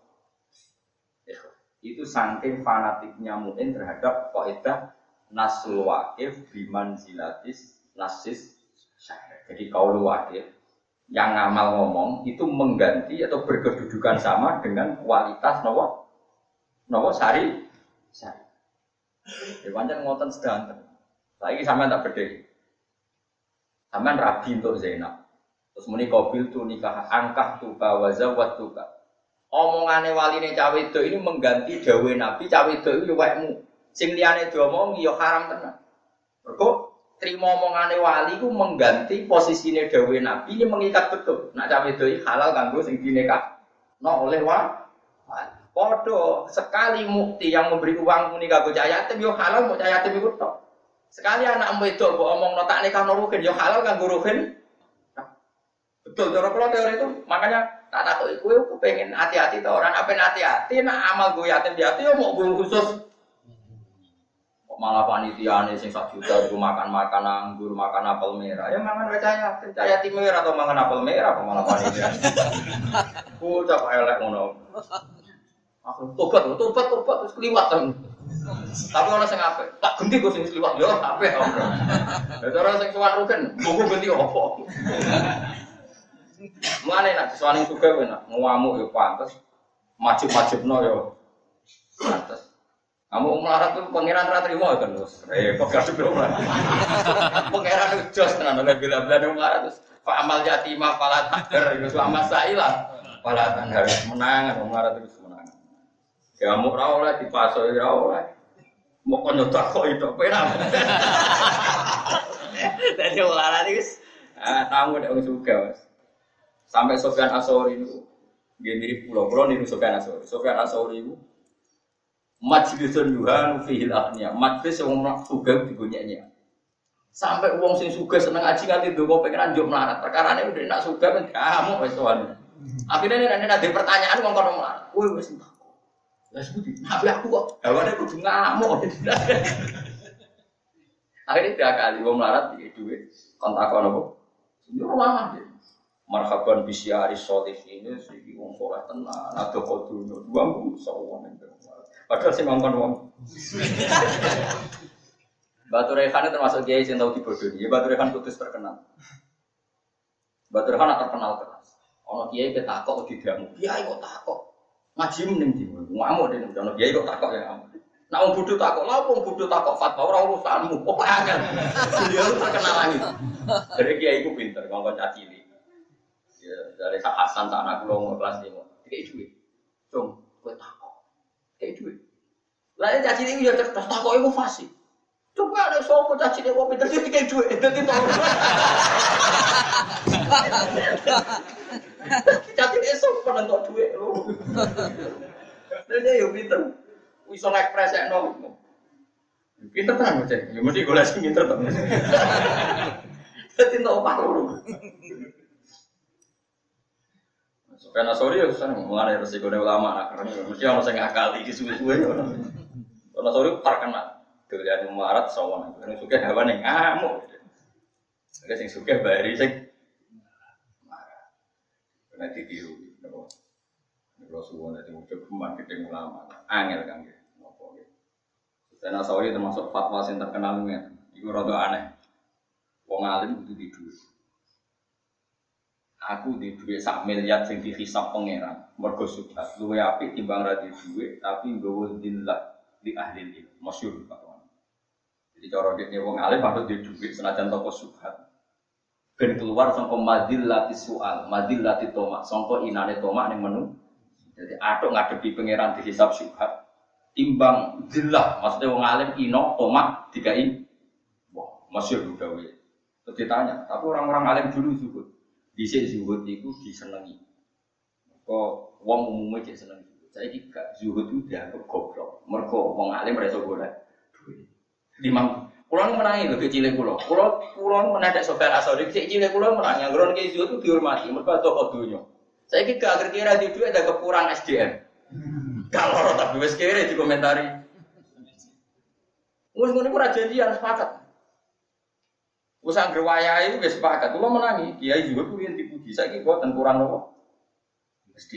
Itu saking fanatiknya Mu'in terhadap kaidah nasul waqif bimanzilatis nasis syar'i. Jadi qaul waqif yang ngamal ngomong itu mengganti atau berkedudukan sama dengan kualitas napa sari. Ya pancen ngoten sedanten. Saiki sampean tak bedhe. Sampean rabi untuk Zainab. Terus muni qabil tu nikah angkah tuka wa zawwatuka. Omongane waline cawe wedok ini mengganti dawuhe Nabi cawe wedok iki wekmu. Sing liyane diomongi ya haram tenan. Mergo trimo omongane wali ku mengganti posisine dawuhe Nabi ini mengikat betul. Nak cawe wedok iki halal kanggo sing dinikahno oleh wali. Padha sekali mukti yang memberi uang muni kanggo cah yatim yo halal mau cah yatim iku tok. Sekali anak wedok mbok omongno tak nikahno ruhin yo halal kanggo ruhin. Betul cara kula teori itu. Makanya tak takoki kowe pengen hati-hati ta orang apa hati-hati nak amal go yatim piatu yo mau guru khusus. Kok malah panitiane sing 1 juta itu makan-makan anggur, makan apel merah. Ya mangan cah yatim merah atau mangan apel merah apa malah panitia. Ku cak elek ngono. Aku tobat terus kliwat kan. Tapi orang sing apik, tak ganti kok sing kliwat yo apik ora. Ya cara sing suwan rugen, buku ganti opo. Mulane nek suwane juga kowe nak ngamuk yo pantes, majib-majibno yo pantes. Kamu melarat tuh pangeran ra trimo kan terus. Repot kadhe ora. Pangeran jos tenan oleh bila-bila melarat terus fa amal yatima fala takdir iku sama sailah. Fala tanhar menangan melarat terus menangan. Ya mau ra oleh dipaso ya oleh. Mau kon takok itu penak. Dadi melarat iki tamu nek wong sugih Mas. Sampai Sofyan As-Sauri itu dia mirip pulau niru Sofyan As-Sauri. Sofyan As-Sauri itu majlisun yuhanu fihil akhniya. Majlis yang orang sugih digunyanya. Sampai uang sing sugih seneng aji nganti ndonga pengen njuk melarat. Perkarane udah nak sugih kan kamu wis sowan. Akhirnya nek ada pertanyaan wong kono melarat. Kowe wis entuk. Lah sebuti, tapi aku kok hawane kudu ngamuk. Akhirnya 3 kali wong melarat iki duwe kontak ono kok. Yo lama deh. Marhaban bisyari sholihin ini sing wong saleh tenan ada kodune wong sawon ning padahal sing ngongkon wong Batu Rehan termasuk kiai sing tau dibodoni ya Batu Rehan putus terkenal Batu Rehan terkenal keras ana kiai ketakok didamu kiai kok takok ngaji ning ndi ngamuk dene ana kiai kok takok ya ngamuk nek wong bodho takok lha wong bodho takok fatwa ora urusanmu kok angel dia terkenal lagi dari kiai ku pinter ngongkon cacili. Ya, dari Sak Hasan sak anak kula kelas 5. Dikek dhuwit. Cung, kowe takok. Dikek dhuwit. Lah ya caci iki ya cerdas takoke ku fasih. Coba ada sapa caci iki kok pinter dikek dhuwit. Dadi to. Caci esuk penentok dhuwit lho. Dene yo pinter. Iso ngekspresekno. Pinter tenan Mas. Ya mesti golek sing pinter to. Dadi to opah lho. Karena sorry ya Ustaz, mulai resiko ulama nak karena mesti orang sing ngakali di suwe-suwe ya. Karena sorry terkenal. Dilihat melarat sawan, karena suka hewan yang ngamuk. Ada sing suka bari sing marah. Karena ditiru. Kalau suwon nanti muncul kembang kita ulama, angel kan gitu. Karena sorry termasuk fatwa yang terkenal nih. Itu rada aneh. Wong alim itu tidur. Aku di duit 1 miliar sing dihisab pangeran mergo subhat luwe apik timbang ra di duit tapi nggawa dillah di ahli ilmu masyhur fatwa. Jadi cara dekne wong alim patut di duit senajan toko subhat ben keluar saka madillati soal madillati tomak saka inane tomak ning menu. Jadi atuk ngadepi pangeran dihisab subhat timbang dillah maksudnya wong alim ino tomak dikai wah masyhur dawe. Terus ditanya tapi orang-orang alim dulu zuhud dhisik zuhud iku disenengi. Kok wong umume cek seneng zuhud. Saiki gak zuhud itu dianggap goblok. Mergo wong alim ora iso golek duit. Limang kula menangi lho cilik kula. Kula menadak Sofyan As-Sauri cilik kula menangi ngron ki zuhud itu dihormati mergo toko donya. Saiki gak kira di duit ada kekurang SDM. Kalau tapi wis kere dikomentari. Wis ngono ku ra janjian sepakat. Wes anggere wayahe wis sepakat, kula menangi. Kiai juga kuwi dipuji. Saiki boten kurang apa? Mesti.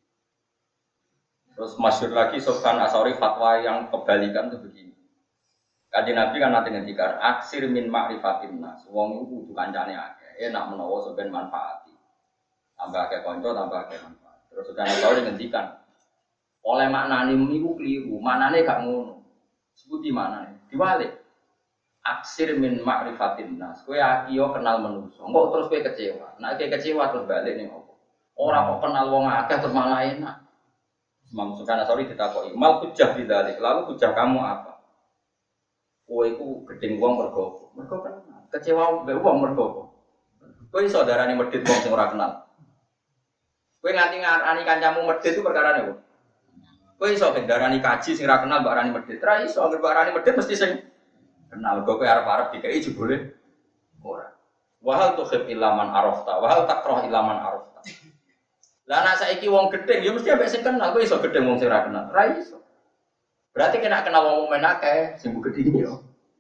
Terus masyhur lagi Sofyan As-Sauri fatwa yang kebalikan itu begini. Kanjeng Nabi kan nanti ngendikan aksir min ma'rifatin nas. Wong iku kudu kancane akeh. Enak menawa sampeyan manfaati. Tambah akeh kanca, tambah akeh manfaat. Terus Sofyan As-Sauri ngendikan oleh maknane niku kliru. Maknane gak ngono. Sebuti maknane. Diwalik. aksir min ma'rifatin nas. Kowe akiyo kenal manusa. Engko terus kowe kecewa. Nek kowe kecewa terus balik ning opo? Ora kok kenal wong akeh terus malah enak. Imam Sufyan Ats-Tsauri ditakoki, "Mal hujjah bidzalik?" Lalu hujjah kamu apa? Kowe iku gedeng wong mergo. Mergo kan kecewa mbek wong mergo apa? Kowe iso darani medhit wong sing ora kenal. Kowe nganti ngarani kancamu medhit itu perkarane apa? Kowe iso darani kaji sing ora kenal mbok arani medhit. Ra iso mbok arani medhit mesti sing kenal. Kowe arep-arep dikai jebule ora. Wa hal tuhib ilaman arafta, wa hal takrah ilaman arafta. Lah nek saiki wong gedeng ya mesti ambek sing kenal, kowe iso gedeng wong sing ora kenal. Ra iso. Berarti kena kenal wong men akeh sing mbok gedeng yo.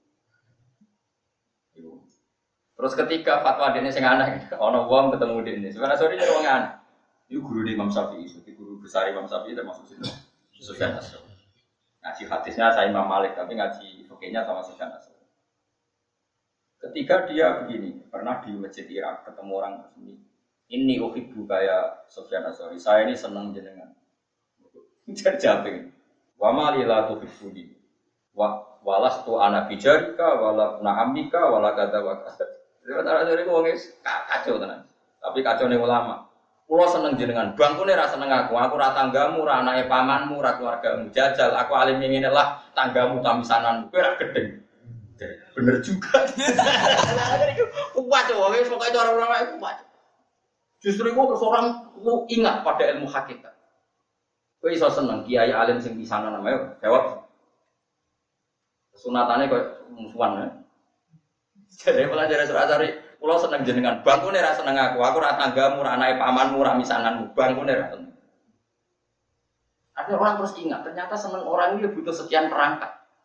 Terus ketika fatwa dene sing aneh, ana wong ketemu dene. Sebenarnya sore nyuruh wong aneh. Iku guru di Imam Syafi'i, itu guru besar Imam Syafi'i termasuk situ. Sufyan Ats-Tsauri. Ngaji hadisnya saya Imam Malik, tapi ngaji fikihnya sama Sufyan Ats-Tsauri. Ketika dia begini, pernah di masjid Irak ketemu orang ini. Ini uhibbu kaya Sufyan Ats-Tsauri. Saya ini senang jenengan. Jajabing. Wa ma lila tuhibbuni. Walastu ana bijarika wala na'amika wala kadza wa kadza. Sebenarnya dari wong kacau tenan. Tapi kacau ning ulama. Kulo seneng jenengan, bangkune ra seneng aku ra tanggamu, ra anake pamanmu, ra keluargamu. Jajal aku alim ngene lah, tanggamu tamisananmu. Kowe ra gedeng. Bener juga. Kuat wong wis pokoke cara ulama iku kuat. Justru itu seorang lu ingat pada ilmu hakikat. Kowe iso seneng kiai alim sing pisanan namanya jawab. Sunatannya kok musuhan ya. Jadi pelajaran Ats-Tsauri, kula seneng jenengan, bangkune ra seneng aku ra tanggamu, ra anake pamanmu, ra misananmu, bangkune ra seneng. Ada orang terus ingat, ternyata seneng orang ini butuh sekian perangkat.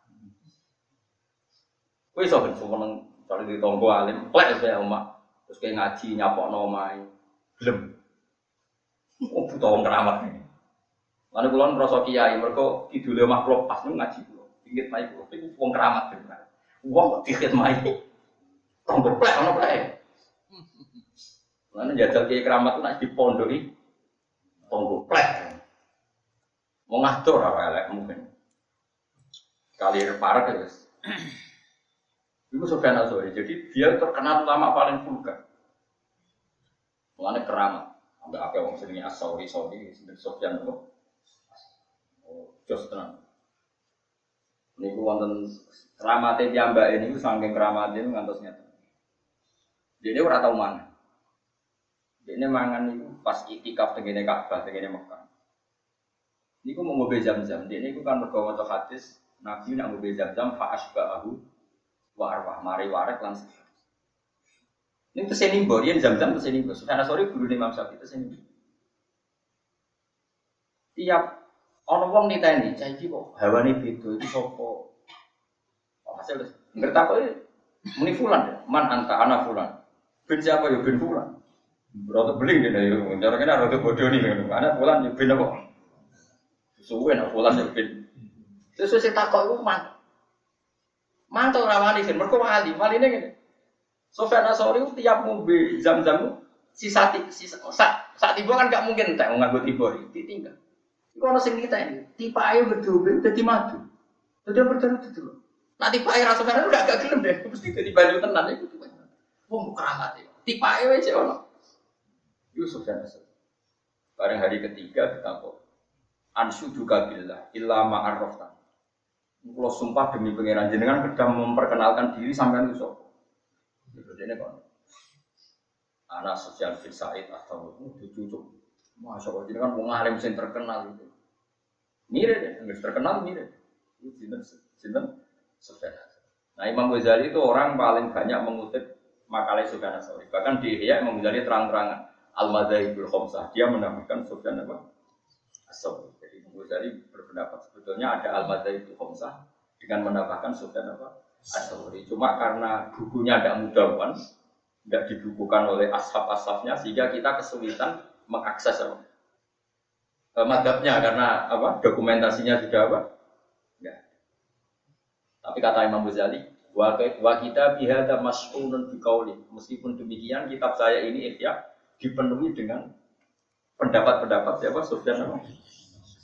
Kowe iso ben seneng kali di tonggo alim, plek saya omah. Terus kayak ngaji nyapokno omahe. Gelem. Oh butuh wong keramat iki. Lan kula ngrasa kiai mergo kidule omah kula pas ngaji kula. Inggit mai kula iku wong keramat bener. Wong kok dikhidmati. Tonggo plek ono plek. Lan jajal kiai keramat nek dipondoki tonggo plek. Mau ngatur ora elek mungkin. Kali parek ya wis. Itu Sufyan Ats-Tsauri. Jadi dia terkenal ulama paling vulgar. Mulane keramat. Ambek akeh wong jenenge Ats-Tsauri, jenenge Sufyan kok. Oh, jos tenan. Niku wonten keramate piyambake niku saking keramate ngantos ngeten. Dene ora tau mangan. Dene mangan niku pas iktikaf tengene Ka'bah, tengene Mekah. Niku mau ngombe Zam-Zam. Dene niku kan mergo maca hadis Nabi nak ngombe Zam-Zam fa asba'ahu wa arwah mari warek lan sehat. Ini teseni mbok, yen Zam-Zam teseni mbok. Sufyan Ats-Tsauri guru Imam Syafi'i teseni mbok. Tiap ana wong niteni, cah iki kok hawane beda iki sapa? Hasil ngerti kok muni fulan, man anta ana fulan. Ben siapa ya ben fulan. Berarti beling dene yo, cara kene ora bodoh nih kan. Ana fulan ya ben apa? Suwe nek fulan ya ben. Sesuk sing takok iku mantul rawani kan mergo wali ngene. Sufyan Ats-Tsauri tiap ngombe Zam-Zam sisa sak tiba kan gak mungkin entek nganggo tiba ditinggal. Iku ana sing ngiteni, tipake berdobe dadi madu. Dadi berdobe itu. Nah tipake ra Sufyan gak gelem deh, mesti dadi banyu tenan iku. Wong keramat iki. Tipake wae cek ono. Yusuf Sufyan Ats-Tsauri. Bareng hari ketiga ditakok. Ansyuduka billah illa ma arrafta. Kulo sumpah demi pangeran jenengan kedah memperkenalkan diri sampean itu sapa. Dene kon. Ana Sufyan bin Sa'id atau cucuk. Masyaallah jenengan wong alim sing terkenal itu. Mirip deh, terkenal mirip. Itu sinten Sufyan. Nah Imam Ghazali itu orang paling banyak mengutip makalah Sufyan Ats-Tsauri. Bahkan di Ihya Imam Ghazali terang-terangan Al-Madzhabul Khamsah. Dia menamakan Sufyan Ats-Tsauri. Jadi Imam Ghazali berpendapat sebetulnya ada Al-Madzhabul Khamsah dengan menambahkan Sufyan Ats-Tsauri. Cuma karena bukunya tidak mudawan, tidak dibukukan oleh ashab-ashabnya, sehingga kita kesulitan mengakses madhabnya karena dokumentasinya sudah enggak. Tapi kata Imam Ghazali, wa kita bihadza mas'ulun biqauli. Meskipun demikian, kitab saya ini Ihya dipenuhi dengan pendapat-pendapat siapa Sufyan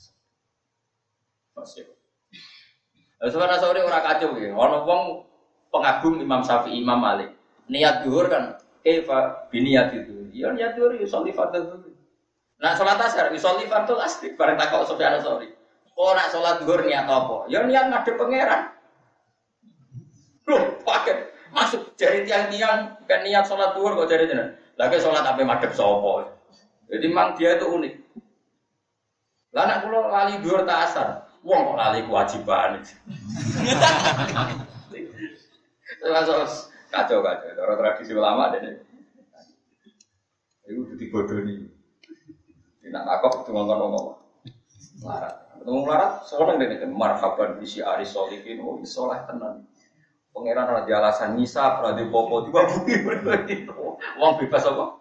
Sufyan Ats-Tsauri ora kacau ya. Ana wong pengagum Imam Syafi'i, Imam Malik. Niat zuhur kan kaifa biniyat itu. Ya niat zuhur yusolli fardhu. Nah salat asar yusolli fardhu asri bareng takok Sufyan Ats-Tsauri. Oh nak salat zuhur niat apa? Ya niat ngadep pangeran. Loh, paket masuk jari tiang-tiang kan niat salat zuhur kok jari jenengan. Lagi salat ape madhep sapa. Jadi memang dia itu unik. Lah nek kula lali zuhur ta asar, wong kok lali kewajiban. Terus kacau. Orang tradisi ulama deh. Itu dibodoni. Tidak takut itu ngomong-ngomong. Larat. Ketemu larat, seorang deh kan marhaban bisi aris solihin. Oh, isolah tenan. Pangeran raja alasan nisa, raja popo juga bukti. Uang bebas apa?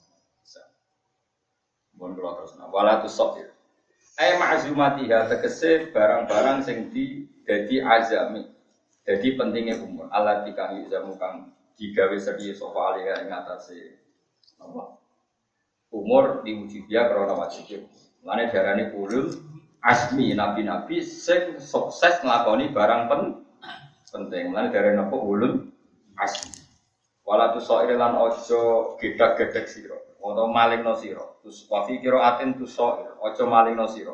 Mohon kalau terus. Walatus sok ya. Ma'zumatiha tegese barang-barang sing dadi azami. Jadi pentingnya umur. Allah dikang yuzamu kang digawe serius sofa alih ing atase apa? Umur diwujud dia karena wajib. Mane darane ulul asmi nabi-nabi sing sukses nglakoni barang penting. Mane darane apa ulul asmi. Wala tu sa'ir lan aja gedak-gedek sira. Utawa malingno sira. Terus wa fi qiraatin tu sa'ir. Aja malingno sira.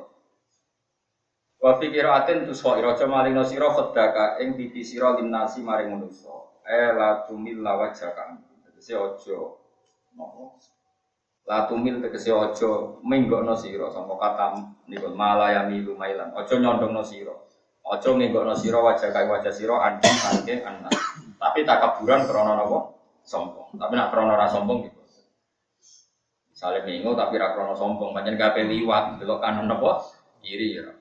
Wa fi qiraatin tu sa'ir. Aja malingno sira khadaka ing pipi sira linnasi maring manusa. La tumil lawajaka. Tegese aja napa? La tumil tegese aja menggokno sira sangka kata niku malayami lumailan. Aja nyondongno sira. Aja menggokno sira wajah sira anding saking anak. Tapi takaburan krana napa? Sombong. Tapi nek krana ora sombong gitu. Misale mengo tapi ra krana sombong, pancen kabeh liwat delok kanan napa? Kiri ya.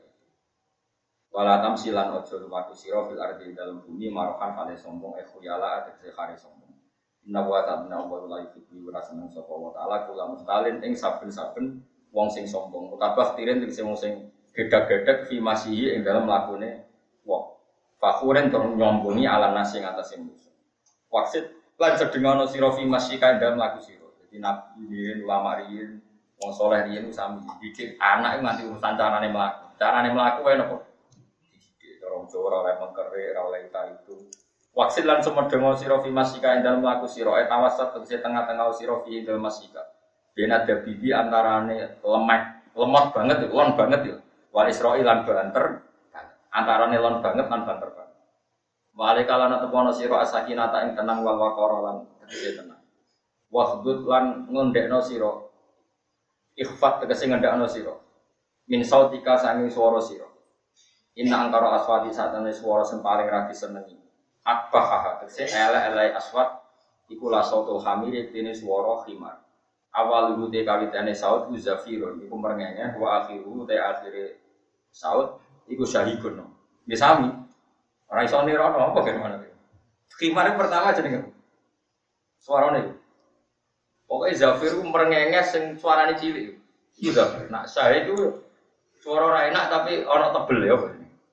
Wala tamsilan aja lumaku sira fil ardi dalem bumi marokan kale sombong khuyala tegese kare sombong. Inna wa ta'ala wa la yuhibbu wa seneng sapa wa ta'ala kula mustalin ing saben-saben wong sing sombong. Utabah tiren tegese wong sing gedak-gedek fi masihi ing dalem lakune wong. Fakhuren tur nyombongi ala nasi ing atase musuh. Waksit lan sedengono sira fi masika ing dalem laku sira. Dadi nabi riyen ulama riyen wong saleh riyen sami didik anak nganti urusan carane mlaku. Carane mlaku wae napa? Orang Jawa ora mengkere ora oleh itu. Waksil lan semedengo sira fi masika ing dalem laku sira etawasat tegese tengah-tengah sira fi dalem masika. Ben ada bibi antarane lemot banget lon banget ya. Wal Israil lan banter antarane lon banget lan banter banget. Wale kalana tepono sira asakinata ing tenang wal waqara lan tegese tenang. Wahdud lan ngondekno sira. Ikhfat tegese ngendakno sira. Min sautika sanging swara sira. Inna angkara aswati satane swara sing paling ra disenengi. Akbaha tegese ele-ele aswat iku la sautul hamir dene swara khimar. Awal rute kawitane saut uzafirun iku merengenge wa akhiru te akhire saut iku syahikun. Nggih sami. Ora iso nirono apa gimana iki. Khimar pertama jenenge. Suarane. Pokoke zafir ku merengenge sing suarane cilik. Iku zafir. Nak syahid itu suara ora enak tapi ana tebel ya.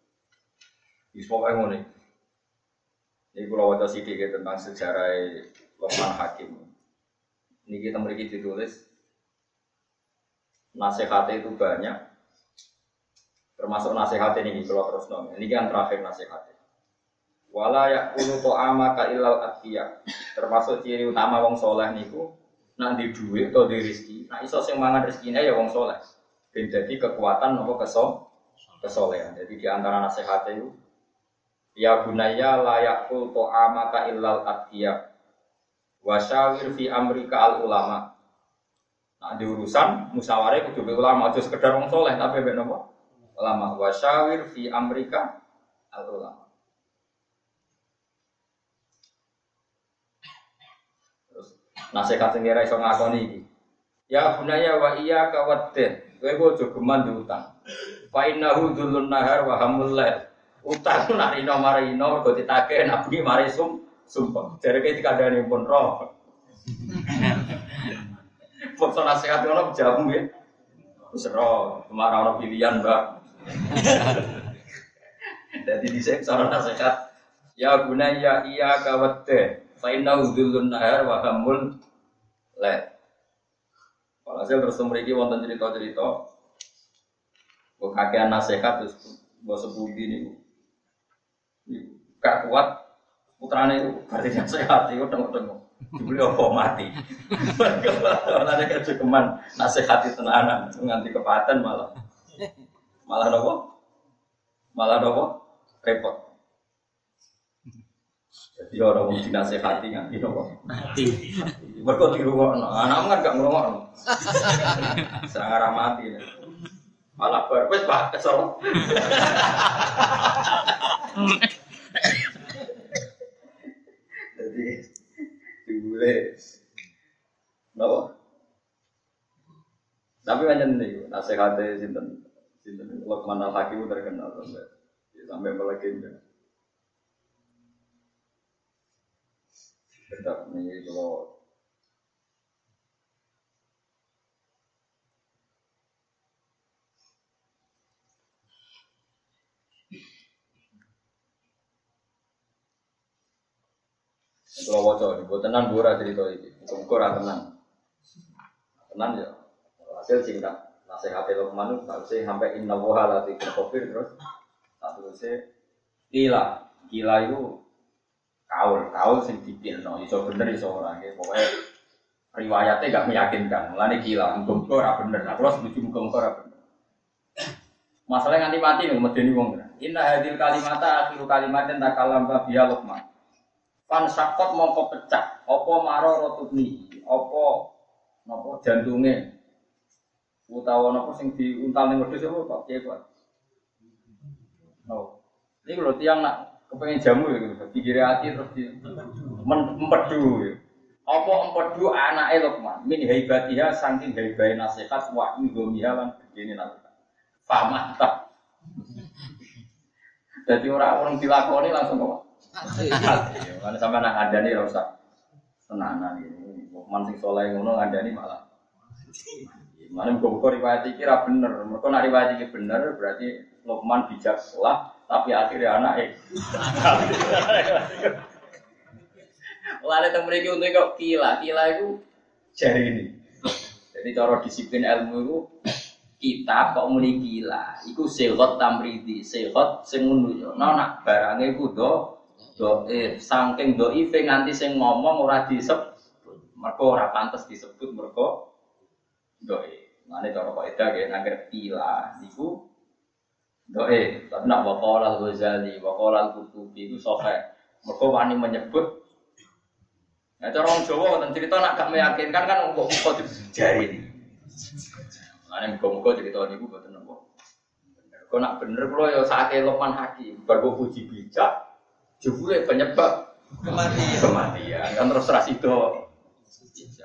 Wis pokoke ngene. Ini kalau waca sedikit tentang sejarah Luqman Hakim. Ini kita memiliki ditulis nasihat itu banyak, termasuk nasihat ini kalau terus nong. Ini kan terakhir nasihat. Wala yakunu ta'amaka illal atqiya. Termasuk ciri utama wong soleh niku nak di duit atau di rezeki. Nah iso sing mangan rezekine ya wong soleh. Ben dadi kekuatan nopo kesolehan. Jadi di antara nasihat itu ya bunayya la yaqul ta'amaka illal atqiya wasyawir fi amrika al ulama. Nah di urusan musyawarah kudu be ulama aja sekedar wong saleh tapi be napa? Ulama wasyawir fi amrika al ulama. Terus nasihat sing ora iso ngakoni iki. Ya bunayya wa iyyaka waddin. Kowe aja geman diutang. Fa innahu dzulun nahar wa hamul lail. Utang narino marino mergo ditagih nabi mari sumpah. Jareke dikandani pun roh. Foto nasihat ngono jamu nggih. Wis roh, kemara ono pilihan, Mbak. Dadi dhisik cara nasihat. Ya gunaya iya kawadde. Fa inna udzulun nahar wa hamul la. Walhasil terus mriki wonten cerita-cerita. Kok kakean nasihat terus mbok sepundi niku. Gak kuat Putrane itu berarti sehat itu tengok-tengok. Dibeli apa mati. Ora ada kecukupan nasihati tenanan nganti kepaten malah. Malah nopo? Malah nopo? Repot. Jadi orang mau dinasehati nganti nopo? Mati. Mergo dirungokno. Anakmu kan gak ngrungokno. Sangar mati. Malah wis Pak kesel. Jadi dibule nopo? Tapi pancen niku nasihate sinten Luqman Al-Hakim terkenal sampai melegenda. Tetap ini kalau wajah ini, buat tenan bora cerita ini, ukur tenan ya. Hasil singkat nasihat Luqman itu sampai inna woha lati kafir terus satu gila itu kaul sing dipilno iso bener iso ora nggih pokoke riwayate gak meyakinkan mulane gila muga-muga ora bener aku ora setuju muga-muga ora bener masalah nganti mati lho medeni wong inna hadil kalimata akhiru kalimatin takalam biya Luqman pan sakot mongko pecah apa maro rotubni apa napa jantunge utawa napa sing diuntal ning wedhus apa kok piye kok no iki lho tiyang nak kepengen jamu ya gitu, pikir hati terus di empedu ya. Apa empedu anake Luqman min haibatiha saking haibai nasihat wa indomiha lan begini nasihat. Famata. Jadi orang dilakoni langsung kok. Kan sampean nak ngandani ora usah tenanan iki. Luqman sing saleh ngono ngandani malah. Mana muga-muga riwayat iki ra bener. Mergo nek riwayat iki bener berarti Luqman bijak salah tapi akhirnya anak Lari teng mriki untuk kok kila itu jari ini. Jadi cara disiplin ilmu itu kitab kok muni gila. Iku sehat tamridi, sehat sing ngono yo. Nak barange iku saking dhaife nganti sing ngomong ora disebut. Mergo ora pantes disebut mergo dhaif. Mane cara kok edah nggih nang kila niku tapi nak waqala al-Ghazali, waqala al-Qurtubi itu sahih. Mergo wani menyebut. Nah, cara wong Jawa wonten cerita nak gak meyakinkan kan muga-muga dijari iki. Mane muga-muga cerita niku mboten napa. Kok nak bener kula ya sakake Luqman Hakim, bar kok puji bijak, jebule penyebab kematian. Kan terus ra sida